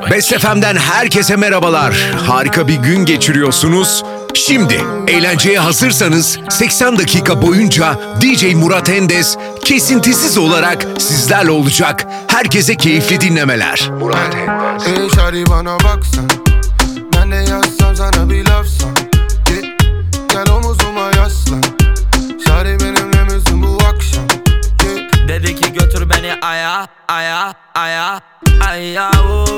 Best FM'den herkese merhabalar. Harika bir gün geçiriyorsunuz. Şimdi eğlenceye hazırsanız 80 dakika boyunca DJ Murat Endes kesintisiz olarak sizlerle olacak. Herkese keyifli dinlemeler. Murat Endes. Ey şari bana baksan, ben de yazsam sana bir lafsan. Gel omuzuma yaslan, şari benimle misin bu akşam? Dedi ki götür beni aya, aya, aya, aya, oh.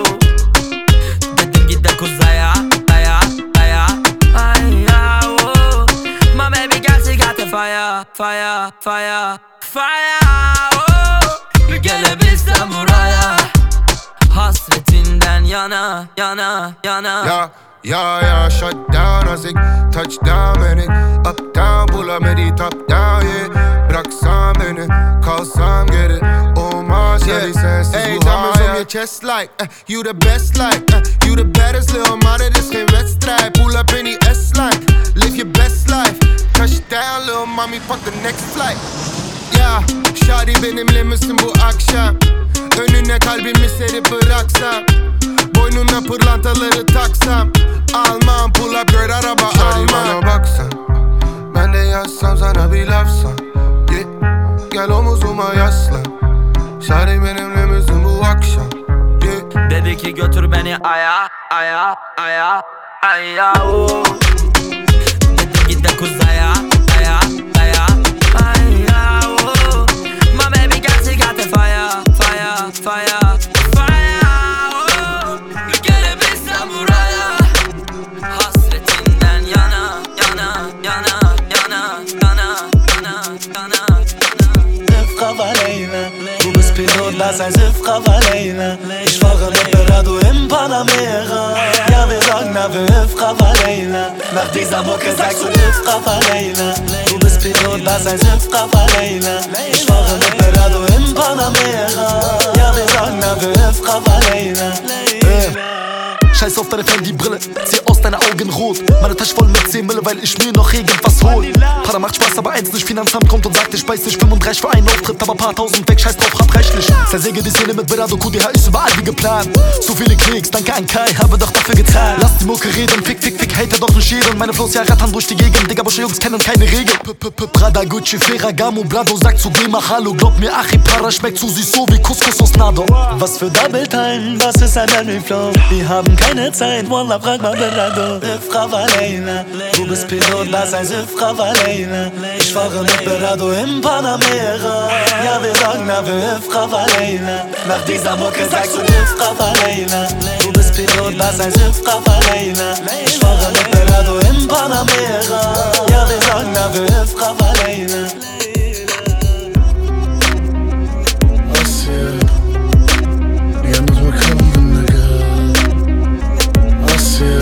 Dedim git de kuzaya, aya, aya, aya, oh. My baby girl she got the fire, fire, fire, fire, oh. Bir gelebilsem buraya, hasretinden yana, yana, yana. Ya, shut down as ik touchdown ben ik. Up down, pull up met die top down, yeah. Bıraksan beni, kalsam geri. Olmaz şari sensiz bu hayat. Diamonds on your chest like, you the best like, you the baddest little ma, dit is geen wedstrijd. Pull up in die S-line, live your best life. Touchdown little mommy, fuck the next flight. Ya, şari benimle misin bu akşam? Önüne kalbimi serip bıraksam, boynuna pırlantaları taksam, almam pull up girl araba almam. Şari bana baksan, ben de yazsam sana bir lafsan, yeah. Gel omuzuma yaslan, şari benimle misin bu akşam, yeah. Dedi ki götür beni aya, aya, aya, aya, oh. Dedim git de kuzaya, aya, aya, aya, oh. My baby girl she got the fire, fire, fire, fire, oh. Bir gelebilsem buraya, hasretinden yana, yana, yana, yana, yana, yana, yana. Frau Valena, du bist Pilot, lass ein Frau Valena. Ich fahre mit Berado im Panamera. Ja, wir sagen dafür Frau Valena. Nach dieser Mucke sagst du Frau Valena. Du bist Pilot, lass ein Frau Valena. Ich fahre mit Berado im Panamera. Ja, wir sagen dafür Frau Valena. Scheiß auf deine Fendi-Brille, zieh aus deine Augen rot. Meine Tasche voll mit 10 Mille, weil ich mir noch irgendwas hol. Para macht Spaß, aber eins nicht, Finanzamt kommt und sagt, ich weiß nicht, 35 für einen Auftritt, aber paar tausend weg, scheiß drauf, hab reichlich. Zersäge die Szene mit Berado, QDH ist überall wie geplant. So viele Klicks, danke an Kai, habe doch dafür getan. Lass die Mucke reden, fick, fick, fick, hater doch nicht jeden. Meine Flows ja rattern durch die Gegend, Digga, Busche Jungs kennen keine Regeln. Prada, Gucci, Ferragamo, Brado, sagt zu geh mal Hallo. Glaub mir, Achipara schmeckt zu süß, so wie Couscous aus Nado. Was für Double Time, was ist ein Henry Flow? Wir haben keine Zeit, Wallah, frag mal Berado. Frau Valena, du bist Pilot, lass ein Frau Valena. Ich fahre mit Berado im Panamera. Ja, wir sagen dafür Frau Valena. Nach dieser Mucke sagst du Frau Valena. Du bist Pilot, lass ein Frau Valena. Ich fahre mit Berado im Panamera. Ja, wir sagen dafür Frau Valena. Yalnız mı kaldın aga? Asya.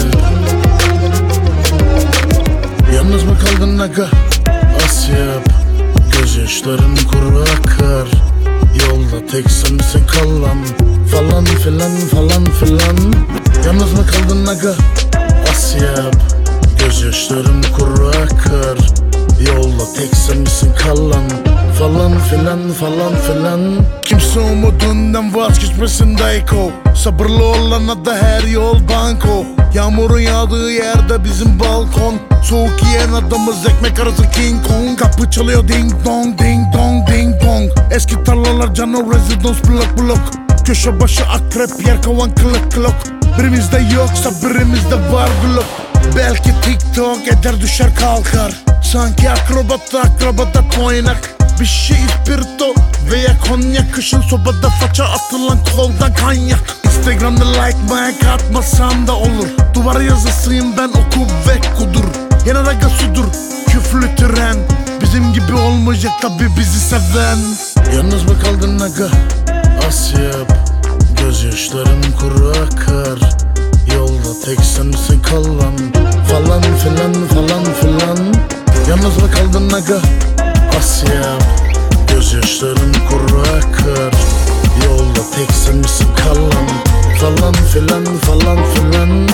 Yalnız mı kaldın aga? Asya. Gözyaşların kuru akar. Yolda tek sen misin kalan? Falan filan falan filan. Yalnız mı kaldın aga? Asya. Gözyaşların kuru akar. Yolda tek sen misin kalan? Falan filan falan filan. Kimse umudundan vazgeçmesin Dayko. Sabırlı olana da her yol banko. Yağmurun yağdığı yerde bizim balkon. Soğuk yiyen adamız ekmek arası King Kong. Kapı çalıyor ding dong ding dong ding dong. Eski tarlalar cano residence blok blok. Köşe başı akrep yer kovan kılık kılık. Birimizde yoksa birimizde var blok. Belki TikTok eder düşer kalkar. Sanki akrobata toynak. Bir şey ispirto veya konyak. Kışın sobada faça atılan koldan kanyak. Instagram'da like mayak atmasam da olur. Duvar yazısıyım ben oku ve kudur. Yana raga sudur küflü tren. Bizim gibi olmayacak tabi bizi seven. Yalnız mı kaldın aga? Asya. Gözyaşlarım kuru akar. Yolda tek sen misin kalan? Falan filan falan filan. Yalnız mı kaldın aga? Asya. Gözyaşlarım kuru akar. Yolda tek sen misin kalan? Falan filan falan filan.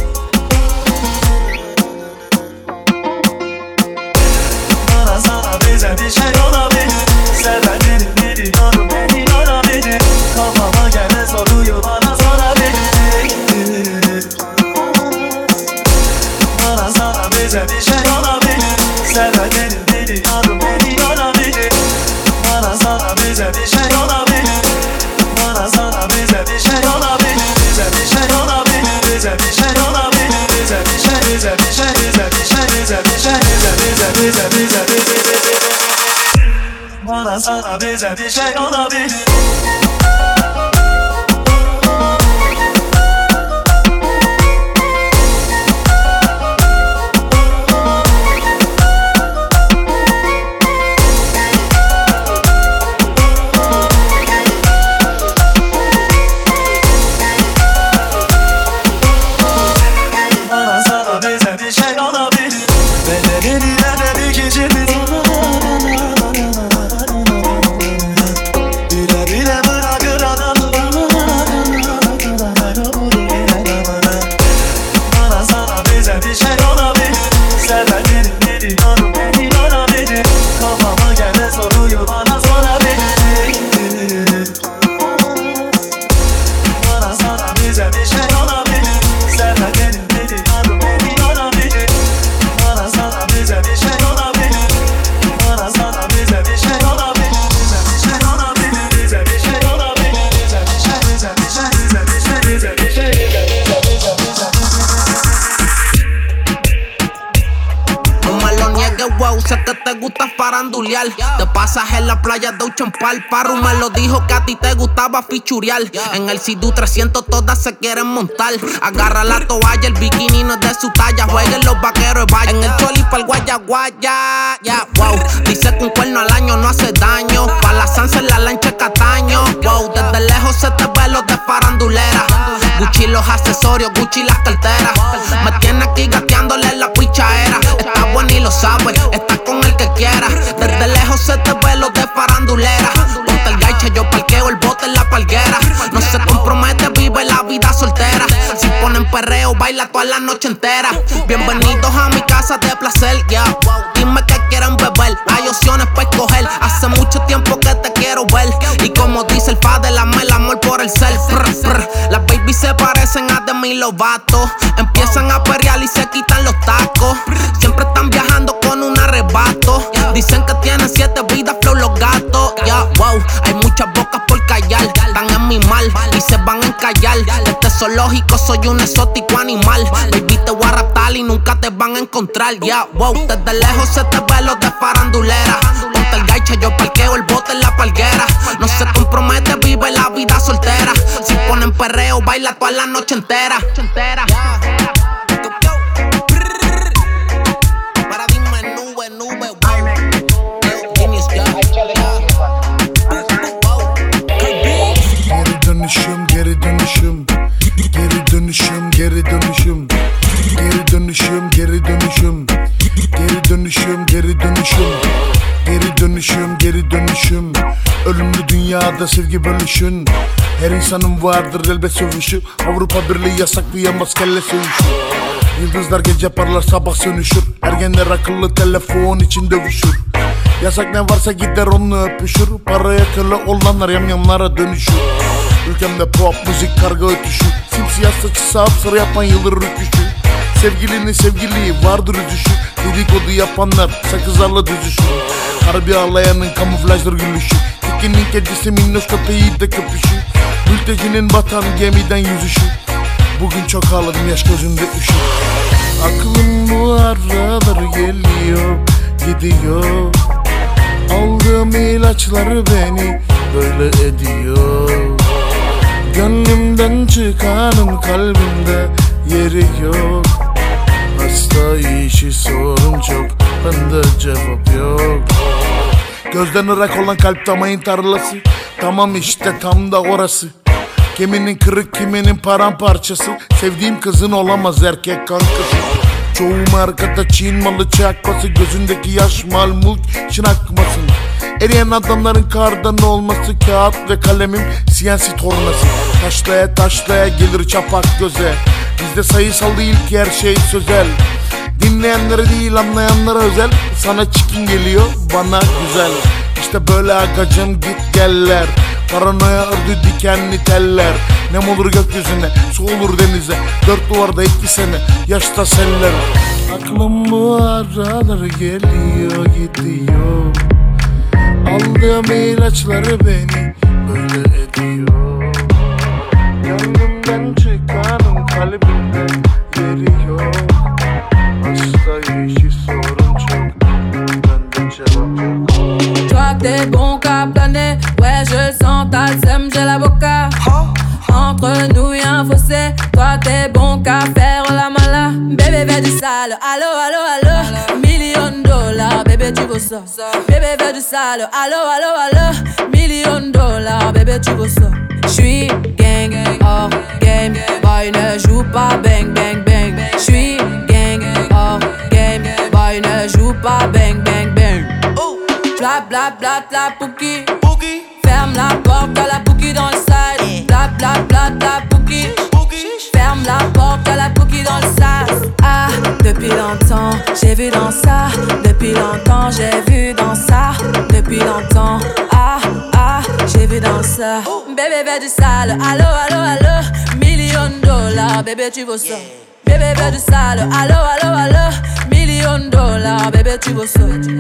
Bana sana bize bir şey olabilir. Sevenlerin biliyorum beni yorabilir. Kafama gelen soruyu bana sorabilir. Bana sana bize bir şey olabilir. Sevenlerin biliyorum beni yorabilir. Bana sana bize bir şey olabilir. Bana sana bize bir şey olabilir. Bize bir şey olabilir. Bize bir şey olabilir. Bize bir şey, bize bir şey, bize bir şey, bize bir şey, bize. Bana sana bize bir şey olabilir. Bana sana bize bir şey olabilir. Bedenini dedik içimiz. Bile bile bırakır adam. Bana sana bize bir şey olabilir. Sevenlerin biliyorum beni yorabilir. Kafama gelen soruyu bana sorabilir. Bana sana bize bir şey olabilir. Sevenlerin biliyorum beni yorabilir. Bana sana bize bir şey olabilir. Bana sana bize bir şey olabilir. Bize bir şey olabilir. Bize bir şey olabilir. Bize bir şey, bize bir şey, bize bir şey, bize bir şey, bize. No me lo niegues, wow, sé que te gusta farandulear. Te pasas en la playa de Uchampal. Parru me lo dijo que a ti te gustaba fichurear. En el Sidu 300 todas se quieren montar. Agarra la toalla, el bikini no es de su talla. Jueguen los vaqueros de vaya. En el choli pa'l guaya guaya. Yeah, wow. Dice que un cuerno al año no hace daño. Pa' la Sansa en la lancha Cataño. Wow, desde lejos se te ve los de farandulera. Gucci los accesorios, Gucci las carteras. Me tiene aquí gateándole la pichaera. Está bueno y lo sabe, está con el que quiera. Desde lejos se te ve los de farandulera. Ponte el gaiche, yo parqueo el bote en la palguera. No se compromete, vive la vida soltera. Si ponen perreo, baila toda la noche entera. Bienvenidos a mi casa de placer, yeah. Dime que quieren beber, hay opciones para escoger. Hace mucho tiempo que te quiero ver. Y como dice el padre, el amor por el ser. Las babies se parecen a Demi Lovato. Empiezan a perrear y se quitan los tacos. Siempre están viajando con un arrebato. Dicen que tienen 7 vidas, flow los gatos. Yeah, wow, hay muchas bocas por callar. Están en mi mal y se van a encallar. De este zoológico soy un exótico animal. Baby, te voy a raptar y nunca te van a encontrar. Yeah, wow, desde lejos se te ve los de farandulera. Ponte el gaiche, yo parqueo el bote en la palguera. No se compromete, vive la vida soltera. Si ponen perreo, baila toda la noche entera. Paradigma nube, nube, wow. Genius, Geri dönüşüm, geri dönüşüm. Geri dönüşüm, geri dönüşüm. Geri dönüşüm, geri dönüşüm. Geri dönüşüm, geri dönüşüm. Geri dönüşüm, geri dönüşüm. Ölümlü dünyada sevgi bölüşün. Her insanın vardır elbet sövüşü. Avrupa Birliği yasaklayamaz kelle sövüşü. Yıldızlar gece parlar sabah sönüşür. Ergenler akıllı telefon için dövüşür. Yasak ne varsa gider onunla öpüşür. Paraya köle olanlar yamyamlara dönüşür. Ülkemde pop müzik karga ötüşü. Simsiyah saçı sapsarı yapan yıldır rüküşü. Sevgilinin sevgiliği vardır üzüşü. Dedikodu yapanlar sakızlarla düzüşür. Harbi ağlayanın kamuflajdır gülüşü. Tekinin kedisi minnoş köpeği de köpüşü. Mültecinin batan gemiden yüzüşü. Bugün çok ağladım yaş gözümde üşü. Aklım bu aralar geliyor gidiyor. Aldığım ilaçları beni böyle ediyor. Gönlümden çıkanın kalbimde yeri yok. Hasta işi sorun çok, bende cevap yok. Gözden ırak olan kalp damayın tarlası. Tamam işte tam da orası. Kiminin kırık kiminin paramparçası. Sevdiğim kızın olamaz erkek kankası. Çoğu markada Çin malı çakması. Gözündeki yaş mal mulk için akmasın. Eriyen adamların kardan olması. Kağıt ve kalemim CNC tornası. Taşlaya taşlaya gelir çapak göze. Bizde sayısal değil ki her şey sözel. Dinleyenlere değil anlayanlara özel. Sana çikin geliyor, bana güzel. İşte böyle agacım git geller. Paranoya ördü dikenli teller. Nem olur gökyüzüne, su olur denize. Dört duvarda 2 sene, yaşta seller. Aklım bu aralar geliyor gidiyor. Aldığım ilaçları beni böyle ediyor. Gönlümden çıkanın kalbimden yeri yok. Hasta işi sorun çok, bende cevap yok. Toi que t'es bon qu'à planer, ouais je le sens, t'as le seum, j'ai l'avocat. Entre nous y'a un fossé, toi t'es bon qu'à faire la mala. Bébé fais du sale, allo allo allo. $1,000,000, bébé tu vaux ça. Bébé fais du sale, allo allo allo. $1,000,000, bébé tu vaux ça. J'suis gang, hors game, boy ne joue pas bang bang bang. J'suis gang, hors game, boy ne joue pas bang bang bang. Bla bla bla la pouki. Ferme la porte à la pouki dans le side. Bla bla bla la pouki. Ferme la porte à la pouki dans le sas. Ah, depuis longtemps j'ai vu dans ça. Depuis longtemps j'ai vu dans ça. Depuis longtemps, ah ah, j'ai vu dans ça. Bébé fais du sale, allo allo allo. $1,000,000, bébé tu vaux ça. Bébé fais du sale, allo allo allo. $1,000,000, bébé tu vaux ça.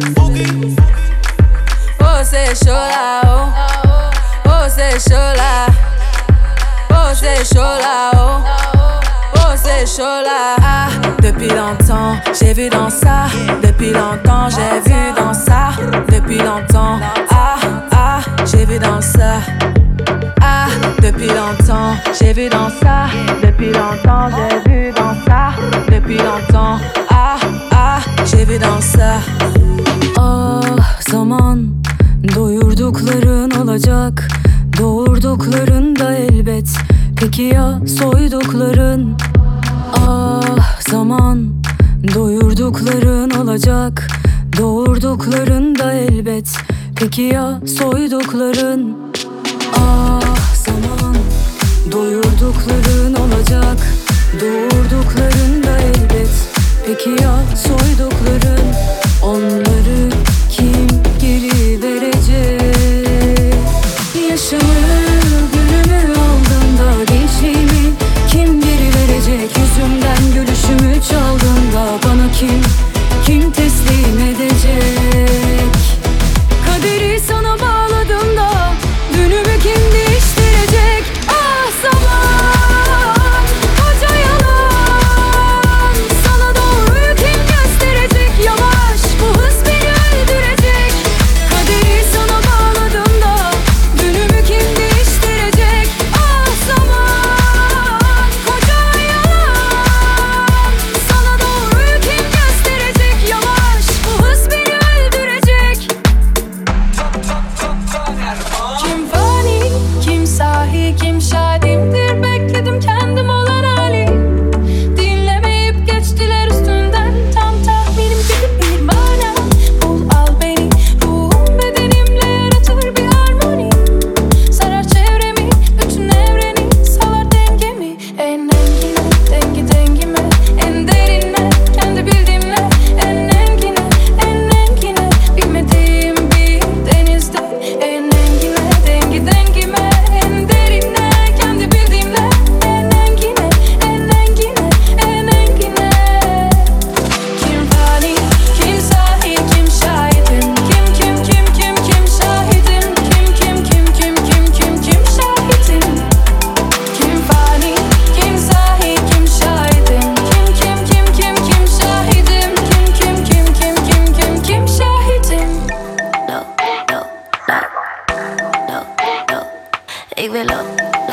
Oh c'est chaud là, oh. Oh c'est chaud là. Oh c'est chaud là, oh. Oh c'est chaud là. Ah, depuis longtemps j'ai vu dans ça. Depuis longtemps j'ai vu dans ça. Depuis longtemps, ah ah, j'ai vu dans ça. Ah, depuis longtemps j'ai vu dans ça. Depuis longtemps j'ai vu dans ça. Depuis longtemps, ah ah, j'ai vu dans ça. Ah zaman doyurdukların olacak, doğurdukların da elbet. Peki ya soydukların? Ah zaman doyurdukların olacak, doğurdukların da elbet. Peki ya soydukların? Ah zaman doyurdukların olacak, doğurdukların da elbet. Peki ya soydukların? Onları kim geri verecek? Yaşamı gülümü aldığında gençliğimi kim geri verecek? Yüzümden gülüşümü çaldığında bana kim teslim edecek? Kaderi sana bağladığımda dünümü kim değiştirecek? Ah zaman koca yalan, sana doğruyu kim gösterecek? Yavaş bu hız beni öldürecek. Kaderi sana bağladığımda dünümü kim değiştirecek? Ah zaman koca yalan, sana doğruyu kim gösterecek? Yavaş bu hız beni öldürecek. Kim fani, kim sahi, kim şahidimdir? Bekledim kendim olan hali. Dinlemeyip geçtiler üstünden. Tam tahminim gibi bir mana. Bul al beni, ruhum bedenimle yaratır bir harmoni. Sarar çevremi, bütün evreni, salar dengemi. En engine, dengime, en derine, kendi bildiğimle. En engine, bilmediğim bir denizde. En engine, dengime, en derine, kendi bildiğimle. En engine, Kim fani, kim sahi, kim şahidim? Kim şahidim? Kim şahidim? Kim fani, kim sahi, kim şahidim? Kim şahidim? Kim şahidim? Ik wil op,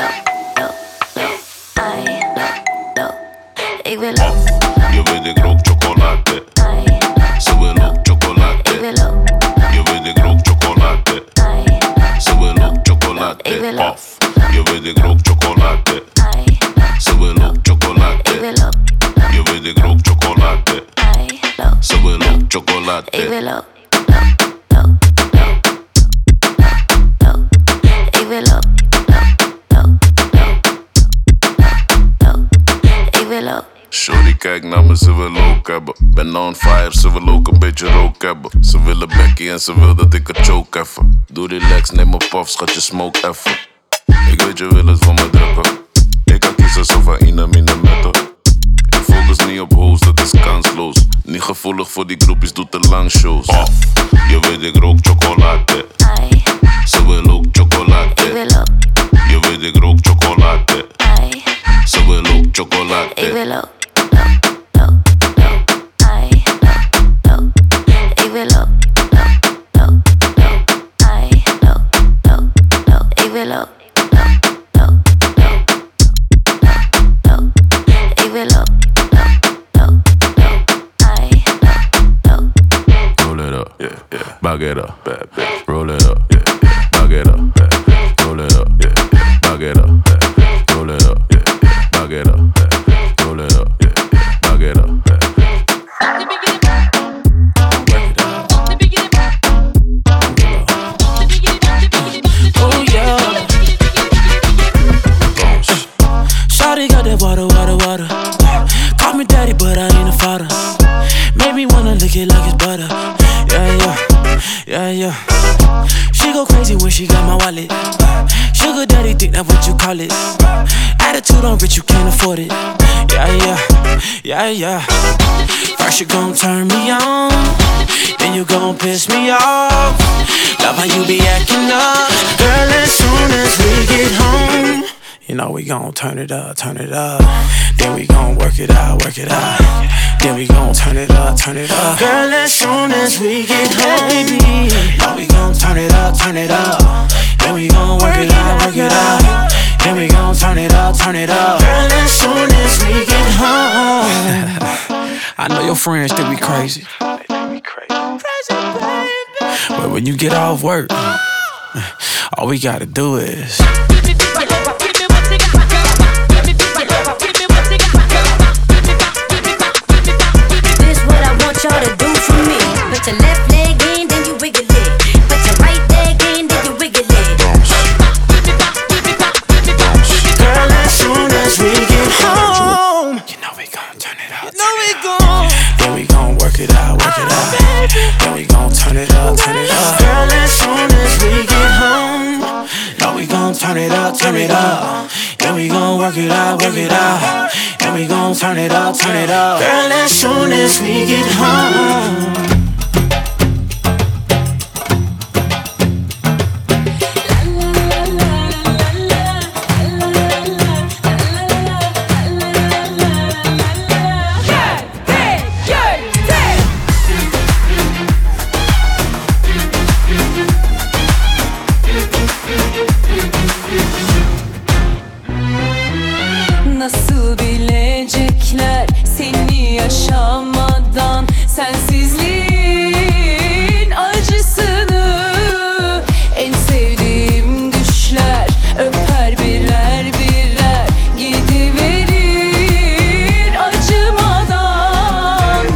ai, ik wil op, Je weet ik rook chocolade, ai, ze wil ook ik chocolade. wil op, Je weet ik rook chocolade, ai, ze wil ook chocolade. Ik wil op. Puff. Je weet ik rook chocolade, ai, ze wil ook ik chocolade. wil op, Je weet ik rook chocolade, ai, ze wil ook chocolade. ik wil op, ik wil op, ik wil op. Shorty, kijk naar me, ze wil ook hebben. Ben on fire, ze wil ook een beetje rook hebben. Ze willen Becky en ze wil dat ik het choke even. Doe relax, neem een puff, schat je smoke even. Ik weet je wil het van me drukken. Ik kan kiezen zo van ine mine metten. Ik focus niet op hoes, dat is kansloos. Niet gevoelig voor die groepjes, doe te lang shows. Je weet ik rook chocolade. Ze wil ook chocolade. Je weet ik rook chocolade. Ze wil ook chocolade. Ik wil ook. Ik wil ook. Ik wil ook. Ik wil ook. Roll it up, yeah, yeah. Back it up, bad bitch. Roll it up, yeah, yeah. Back it up, bad bitch. Roll it up, yeah, yeah. Back it up, bad bitch. Roll it up, yeah, yeah. Back it up, bad bitch. Roll it up, yeah, yeah. Back it up, bad bitch. Oh yeah. Shawty got that water. Call me daddy, but I ain't a father. Made me wanna lick it like it's butter. Yeah. She go crazy when she got my wallet. Sugar daddy, think that what you call it. Attitude on rich, you can't afford it. Yeah. First you gon' turn me on, then you gon' piss me off. Love how you be acting up, girl. As soon as we get home, you know we gon' turn it up. Then we gon' work it out. Then we gon' turn it up. Girl, as soon as we get home, baby, know we gon' turn it up. Then we gon' work it out. Then we gon' turn it up. Girl, as soon as we get home. I know your friends think we crazy. But when you get off work, all we gotta do is y'all to do for me. Put your left leg in, then you wiggle it. Put your right leg in, then you wiggle it. Girl, as soon as we get home, you know we gon' turn it up. Then we gon' work it out. Then we gon' turn it up. Girl, as soon as we get home, know we gon' turn it up. Then we gon' work it out. Then we gon' turn it up. Girl, as soon as we get home. Nasıl bilecekler seni yaşamadan, sensizliğin acısını. En sevdiğim düşler öper birer birer, gidiverir acımadan.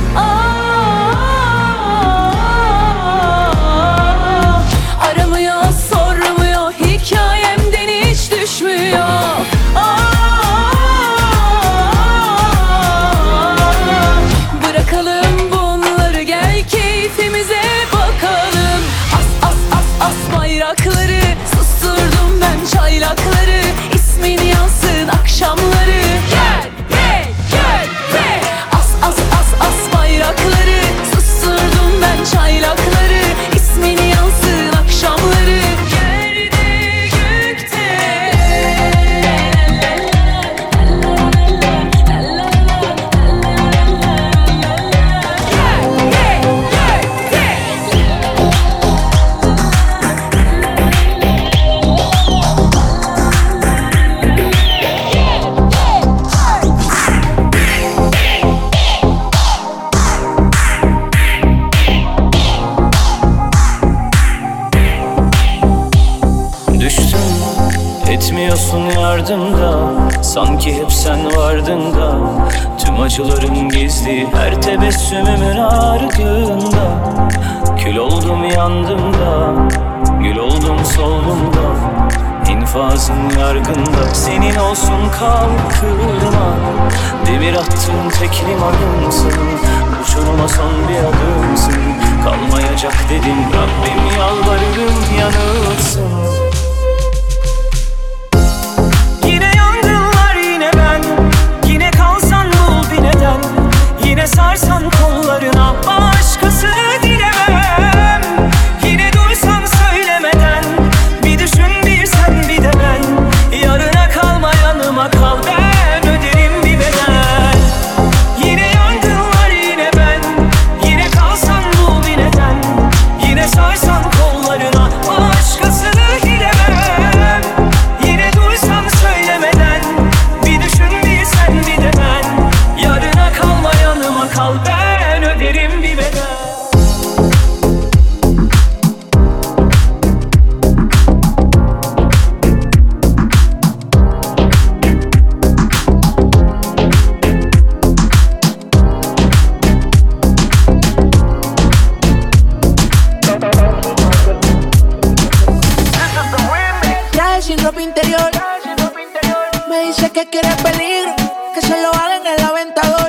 Aramıyor, sormuyor, hikayemden hiç düşmüyor. Bırakalım bunları, gel keyfimize bakalım. As bayrakları, susturdum ben çaylakları. İsmin yansın akşamları. Gel as bayrakları, susturdum ben çaylakları. İsmin yansın akşamları. Yerde gökte Düştüm, etmiyorsun yardımda. Sanki hep sen vardın da. Tüm acılarım gizli, her tebessümümün ardında. Kül oldum yandım da, gül oldum soldum da. infazın yargında. Senin olsun kalkırma, demir attığın tek limanımsın. Uçuruma son bir adımsın, kalmayacak dedim Rabbim, yalvarırım yanılsın. Yine yangınlar yine ben, yine kalsan bul bir neden. Yine sarsan kollarına, başkasını dilemem. Yine duysan söylemeden, bir düşün bir sen bir de ben. Yarına kalma yanıma kal, ben öderim bir bedel. Yine yangınlar yine ben, yine kalsan bul bir neden. Yine sarsan kollarına, başkasını dilemem. Yine duysan söylemeden, bir düşün bir sen bir de ben. Yarına kalma yanıma kal, ben öderim bir bedel. Traje sin ropa interior, me dice que quiere peligro, que se lo haga en el aventador.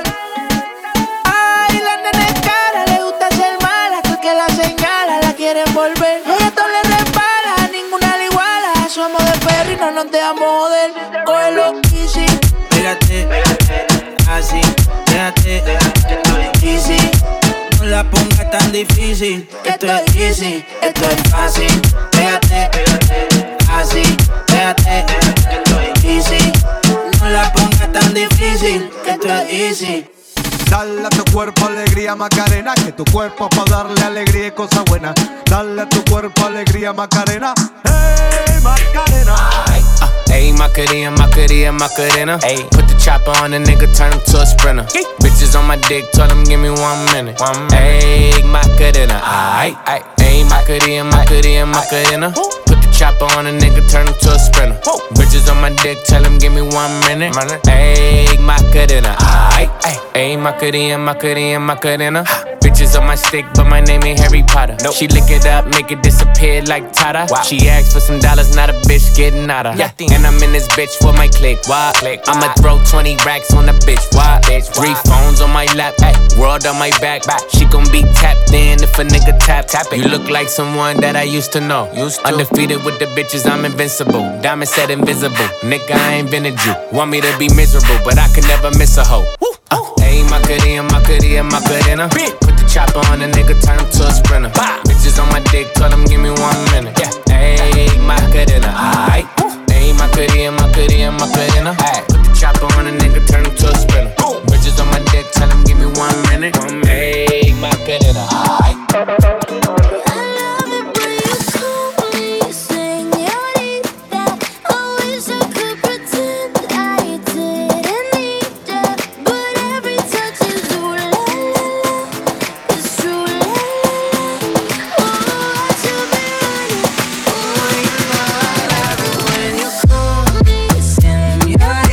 Ay, la nena es cara, le gusta ser mala, tú que la señala, la quieren volver. Ella todo le repara, ninguna le iguala. Somos de perro y no nos dejamos joder. Cógelo easy, pégate, así, déjate, easy. No la pongas tan difícil, que esto es easy, esto es fácil. Pégate, así, déjate, easy. No la pongas tan difícil, que esto es easy. Dale a tu cuerpo alegría Macarena, que tu cuerpo pa' darle alegría y cosas buenas. Dale a tu cuerpo alegría Macarena, hey Macarena. Ayy, Macarena, Macarena, Macarena. Ayy, put the chopper on the nigga, turn him to a sprinter. Bitches on my dick, tell him give me 1 minute. Ayy, Macarena, aight, aight. Ayy, Macarena, Macarena, Macarena. Put the chopper on a nigga, turn him to a sprinter. Bitches on my dick, tell him give me 1 minute. Ayy, Macarena, aight, aight. Ayy, Macarena, Macarena, Macarena. Bitches on my stick, but my name ain't Harry Potter. Nope. She lick it up, make it disappear like Tata. Wow. She asked for some dollars, not a bitch getting out of. Yeah. And I'm in this bitch for my click. Why? I'ma throw 20 racks on the bitch. Why? 3 phones on my lap, ay. World on my back. She gon' be tapped in if a nigga tap it. You look like someone that I used to know. Undefeated with the bitches, I'm invincible. Diamond said invisible. Nigga, I ain't been a Jew. Want me to be miserable, but I can never miss a hoe. Ayy, Macarena, Macarena, Macarena. Put the chopper on a nigga, turn him to a sprinter. Bitches on my dick, tell him give me 1 minute. Ayy, Macarena, aight. Ayy, Macarena, Macarena, Macarena. Put the chopper on a nigga, turn him to a sprinter. Bitches on my dick, tell him give me 1 minute. Ayy, Macarena, aight. Yeah.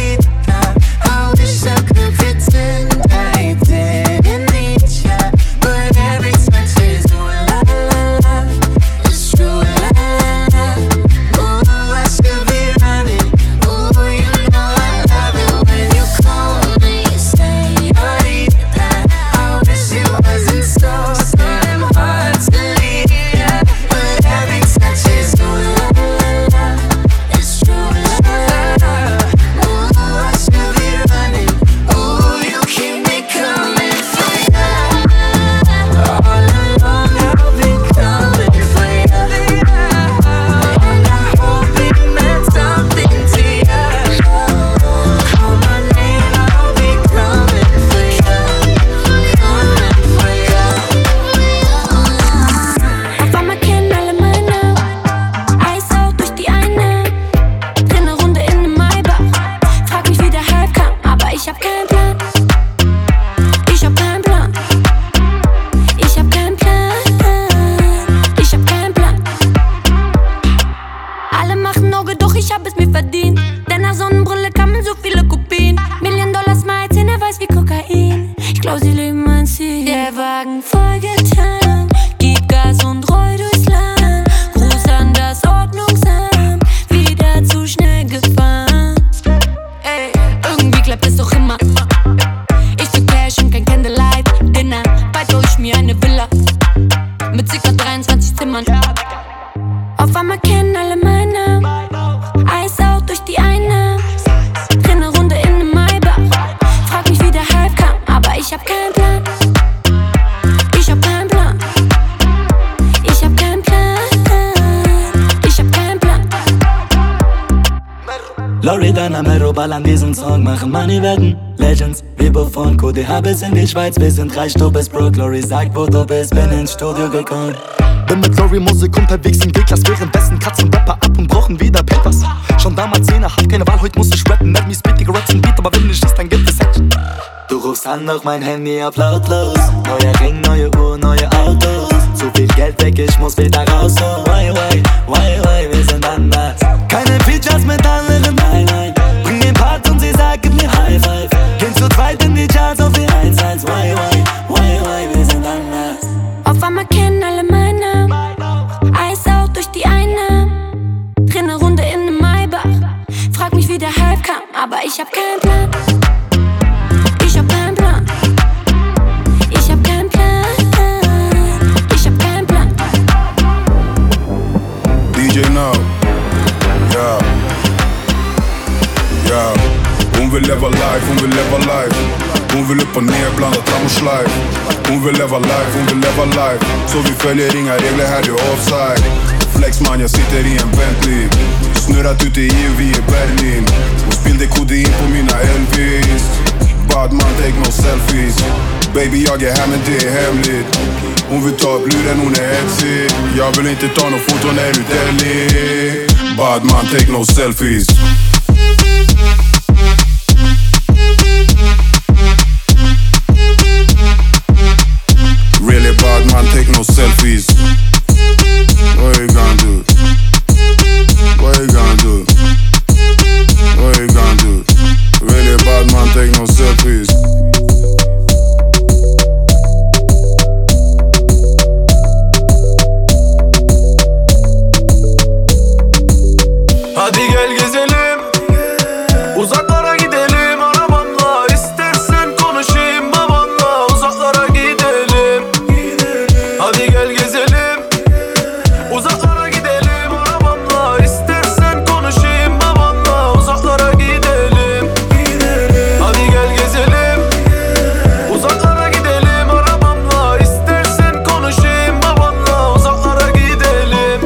20 Zimmern. Auf einmal kennen alle meinen Namen. Eis out durch die Einnahmen. Dreh ne Runde in nem Maybach. Frag mich, wie der Hype kam, aber ich hab keinen Plan. Ich hab keinen Plan. Ich hab keinen Plan. Ich hab keinen Plan. Loredana, Merobal an diesem Song machen Money wetten. Legends, wie von QDH bis in die Schweiz. Wir sind reich, du bist broke. Lori sagt, wo du bist, bin ins Studio gekommen. Bin mit Lori Musik unterwegs in G-Klass. Währenddessen Katzen Rapper ab und brauchen wieder Papers. Schon damals 10er, hab keine Wahl, heute muss ich rappen. Mad me speed, Digga, Raps und Beat, aber wenn nicht ist, dann gibt es Action. Du rufst an, doch mein Handy auf lautlos. Neuer Ring, neue Uhr, neue Autos. Zu viel Geld weg, ich muss wieder raus. So, why, wir sind anders. Keine Features mit anderen, nein. Bring den Part und sie sagt, gib mir High Five. Gehen zu zweit in die Charts auf die 1-1. Why, wir sind anders. Auf einmal kennen alle meinen Namen. Eis out durch die Einnahmen. Dreh ne Runde in nem Maybach. Frag mich, wie der Hype kam, aber ich hab keinen Plan. Ich hab keinen Plan. Ich hab keinen Plan. Ich hab keinen Plan. DJ Now, ja. Hon vill leva life. Hon vill upp och ner, blanda tram och schleif. Hon vill leva life. Så vi följer inga regler här, det är offside. Flex man, jag sitter i en Bentley. Snurrat ute i EU, vi är Berlin. Och spillde kodein på mina Elvis. Bad man, take no selfies. Baby, jag är här men det är hemligt. Hon vill ta upp luren, hon är hetsig. Jag vill inte ta no foto när du Delhi. Bad man, take no selfies. Really bad man, take no selfies. What you gonna do? What you gonna do? What you gonna do? Really bad man, take no selfies. Hadi gel gezelim, uzaklara gidelim arabamla. İstersen konuşayım babanla, uzaklara gidelim. Hadi gel gezelim, uzaklara gidelim arabamla. İstersen konuşayım babanla, uzaklara gidelim. Hadi gel gezelim, uzaklara gidelim arabamla. İstersen konuşayım babanla, uzaklara gidelim.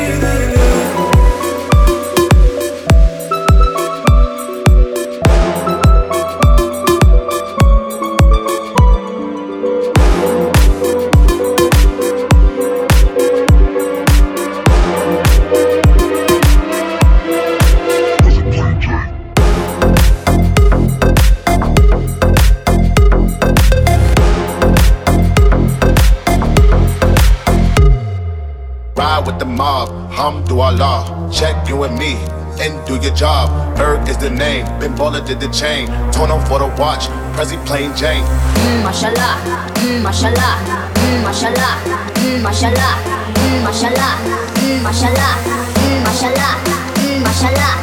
Ride with the mob, Hamdulillah. Check you and me and do your job. Erg is the name, Ben Baller did the chain. Torn up for the watch, Prezi plain Jane. Mashallah, mashallah, mashallah, mashallah, mashallah, mashallah, mashallah, mashallah.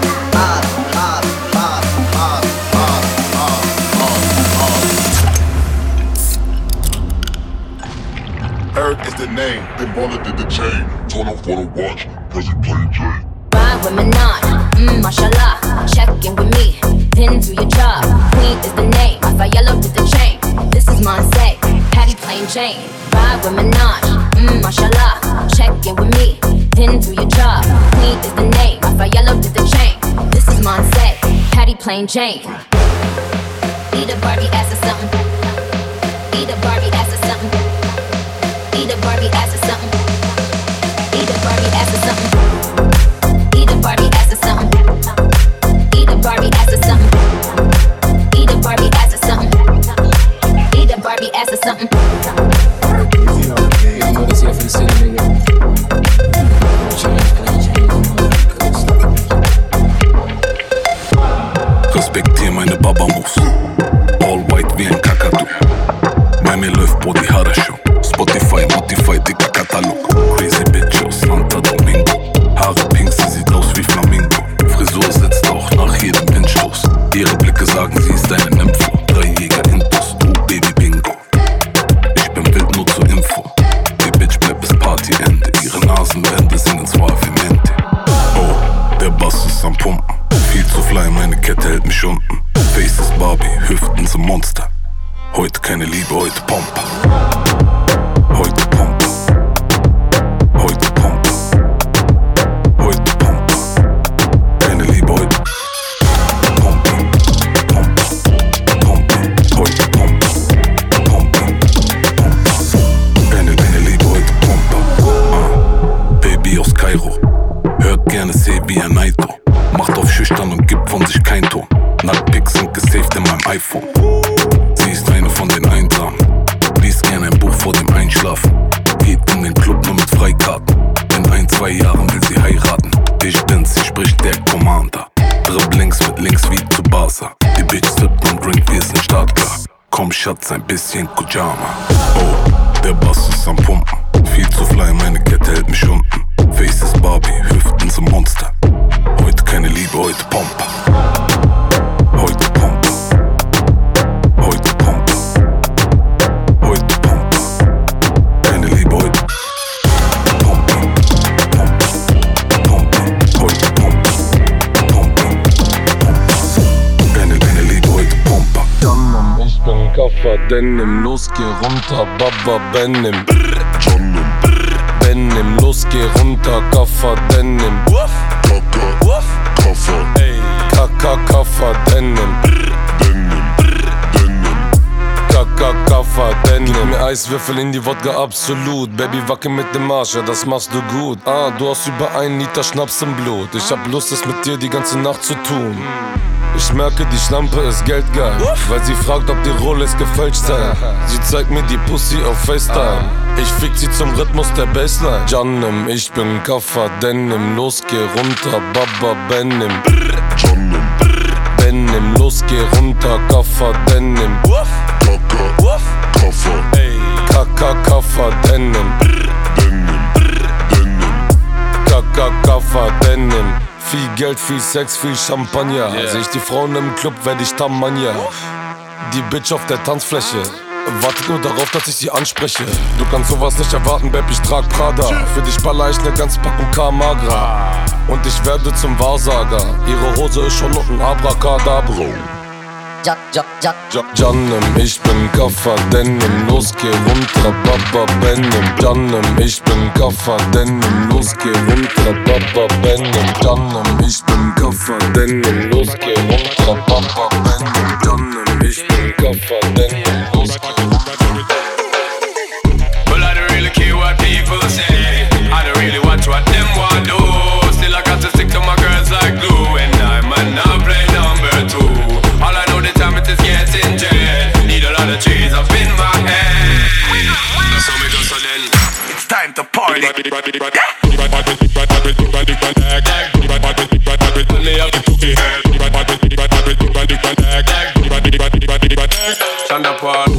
Erg is the name, Ben Baller did the chain. Torn up for the watch, Prezi plain Jane. Ride with Manon, mashallah. Check in with me, then do your job. Queen is the name, Yellow did the chain. This is Monse, Patty plain Jane. Ride with Minaj, mashallah. Check in with me, then do your job. Queen is the name, Yellow did the chain. This is Monse, Patty plain Jane. Eat a Barbie ass or something. Eat a Barbie ass or something. Eat a Barbie ass or something. Eat a Barbie ass or something. Eat a Barbie ass or something. Eat a Barbie ass or something. Eat a Barbie ass or something. Eat a Barbie ass or something. Respektier meine Baba-Moves. All white wie ein Kakadu. Bei mir läuft Body Haare Show. Spotify, Motify, dicker Katalog. Crazy Bitch aus Santa Domingo. Haare pink, sie sieht aus wie Flamingo. Frisur sitzt auch nach jedem Windstoß. Ihre Blicke sagen, sie ist eine Nympho. 3 Jäger Intus, Baby Bingo. Ich bin wild, nur zur Info. Die Bitch bleibt bis Partyende. Ihre Nasenbände singen suavemente. Oh, der Bass ist am Pumpen. Viel zu fly, meine Kette hält mich unten. Face ist Barbie, Hüften sind Monster. Heute keine Liebe, heute Pompe. Heute Pompe. Heute Pompe. Heute Pompe. Keine Liebe, heute Pompe. Pompe. Pompe. Heute Pompe. Pompe. Pompe. Keine Liebe, heute Pompe. Baby aus Kairo. Hört gerne Sebi Naito. Macht auf schüchtern und gibt von sich kein Ton. Nacktpics sind gesaved in meinem iPhone. Sie ist eine von den Einsamen. Liest gern ein Buch vor dem Einschlafen. Geht in den Club nur mit Freikarten. In 1-2 Jahren will sie heiraten. Ich bin's, sie spricht der Commander. Dribblings mit links wie zu Barca. Die Bitch sippt und Drink, wir sind startklar. Komm Schatz, ein bisschen Kujama. Oh, der Bass ist am Pumpen. Viel zu fly, meine Kette hält mich unten. Face ist Barbie, Hüften sind Monster. Heute keine Liebe, heute Pompe. Heute Pompe. Heute Pompe. Heute Pompe. Keine Liebe, heute Pompe. Pompe. Pompe. Heute Pompe. Pompe. Pompe. Keine Liebe, heute Pompe. Ich bin Kaffer Denim, los geh runter, Baba Benim. Benim, los geh runter, Kaffer Denim. Kaffer, Kaka Kaffer Denim. Kaka Kaffer Denim. Gib mir Eiswürfel in die Wodka, absolut. Baby, wacke mit dem Arsch, ja das machst du gut. Du hast über 1 Liter Schnaps im Blut. Ich hab Lust, es mit dir die ganze Nacht zu tun. Ich merke, die Schlampe ist geldgeil, weil sie fragt, ob die Rolex gefälscht sei. Sie zeigt mir die Pussy auf FaceTime. Ich fick sie zum Rhythmus der Bassline. Janem, ich bin Kaffer Denim, los geh runter, Baba Benim. Benim, los geh runter, Kaffer Denim. Kaka Kaffer Denim. Kaka Kaffer Denim. Viel Geld, viel Sex, viel Champagner. Seh ich die Frauen im Club, werd ich Tamania. Die Bitch auf der Tanzfläche wartet nur darauf, dass ich sie anspreche. Du kannst sowas nicht erwarten, Babe, ich trag Prada. Für dich baller ich ne ganze Packung K-Magra. Und ich werde zum Wahrsager. Ihre Hose ist schon unten Abracadabra. Janem, ich bin Kaffer Denim, los geh runter, Baba Benim. Janem, ich bin Kaffer Denim, los geh runter, Baba Benim. Janem, ich bin Kaffer Denim, los geh runter, Baba Benim. Janem, ich bin Kaffer Denim, los geh runter. Well, I don't really care what people say. I don't really watch what them want do. Still I got to stick to my girls like glue. And I might not play number 2. All I know the time it is getting jet. Need a lot of trees up in my head. So me go so then. It's time to party. Stand up one.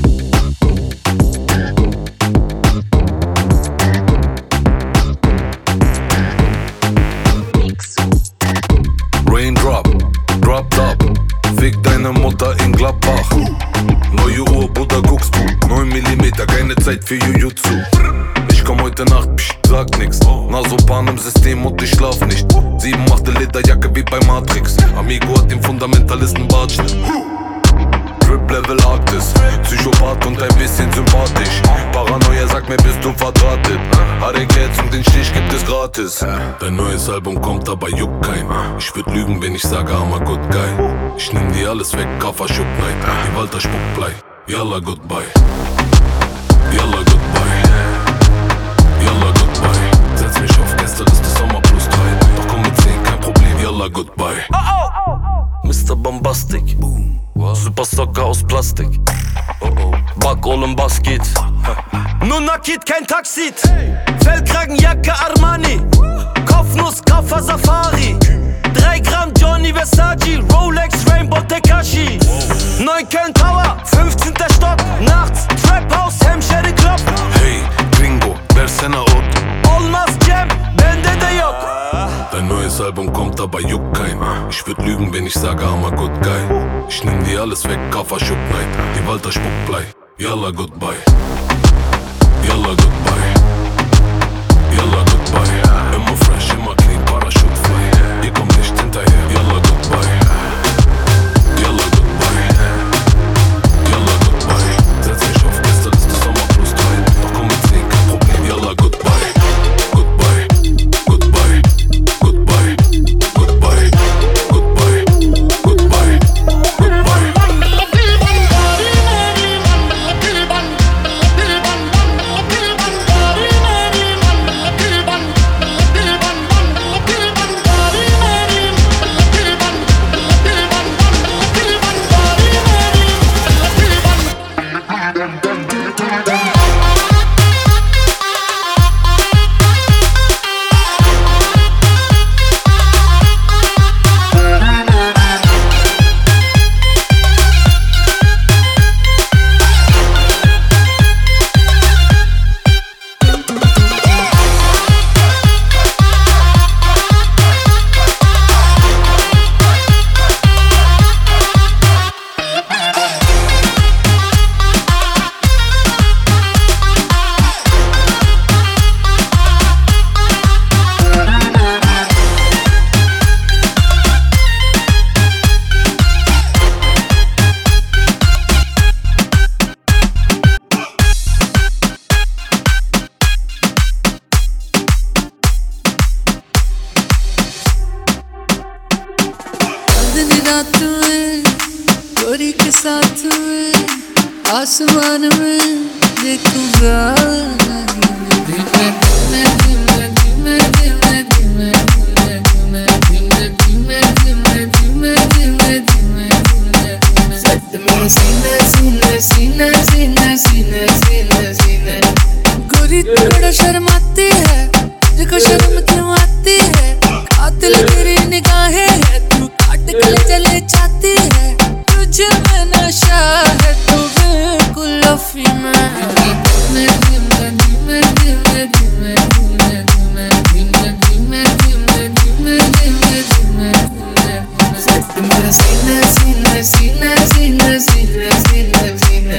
Raindrop, drop top. Fick deine Mutter in Gladbach. Neue Uhr, Bruder, guckst du. 9 mm, keine Zeit für Jujutsu. Ich komm heute Nacht, psch, sag nix. Nasopan im System und ich schlaf nicht. 7-8 Lederjacke wie bei Matrix. Amigo hat den Fundamentalisten Bartschnitt. Drip Level Arktis, Psychopath und ein bisschen sympathisch. Paranoia sagt mir, bist du verdrahtet. Harek jetzt und den Stich gibt es gratis. Dein neues Album kommt, aber juckt kein. Ich würd lügen, wenn ich sage, I'm a good guy. Ich nehm dir alles weg, Kaffer Schuck Night. Die Walter Spuckblei, yalla goodbye. Yalla goodbye. Yalla goodbye. Setz mich auf Gästeliste Sommer plus 3. Doch komm mit 10, kein Problem, yalla goodbye. Mr. Bombastic, Super Socker aus Plastik. Backroll im Basket. Nur Nakid, kein Taxit. Fellkragenjacke Armani. Kopfnuss, Kaffer Safari. 3 Gramm Johnny Versace. Rolex, Rainbow Tekashi. 9 Köln Tower, 15. Stock. Nachts, Trap House, Hemmschede Klopf. Hey, Gringo, versene Ort. Olmaz Cem, bende de yok. Dein neues Album kommt, aber juckt kein. Ich würd lügen, wenn ich sage, I'm a good guy. Ich nehm dir alles weg, Kaffer Schuck Night. Die Walter Spuckblei, yalla goodbye. Yalla goodbye. Yalla goodbye. रात में गोरी के साथ में आसमान में देखूंगा सीने सीने सीने सीने सीने सीने सीने गोरी थोड़ा शर्माती है तुझको शर्म क्यों आती है कातिल तेरी निगाहें है तू काट के चले जाती है तुझे में नशा है तू बिल्कुल लफी सीने सीने सीने सीने सीने सीने सीने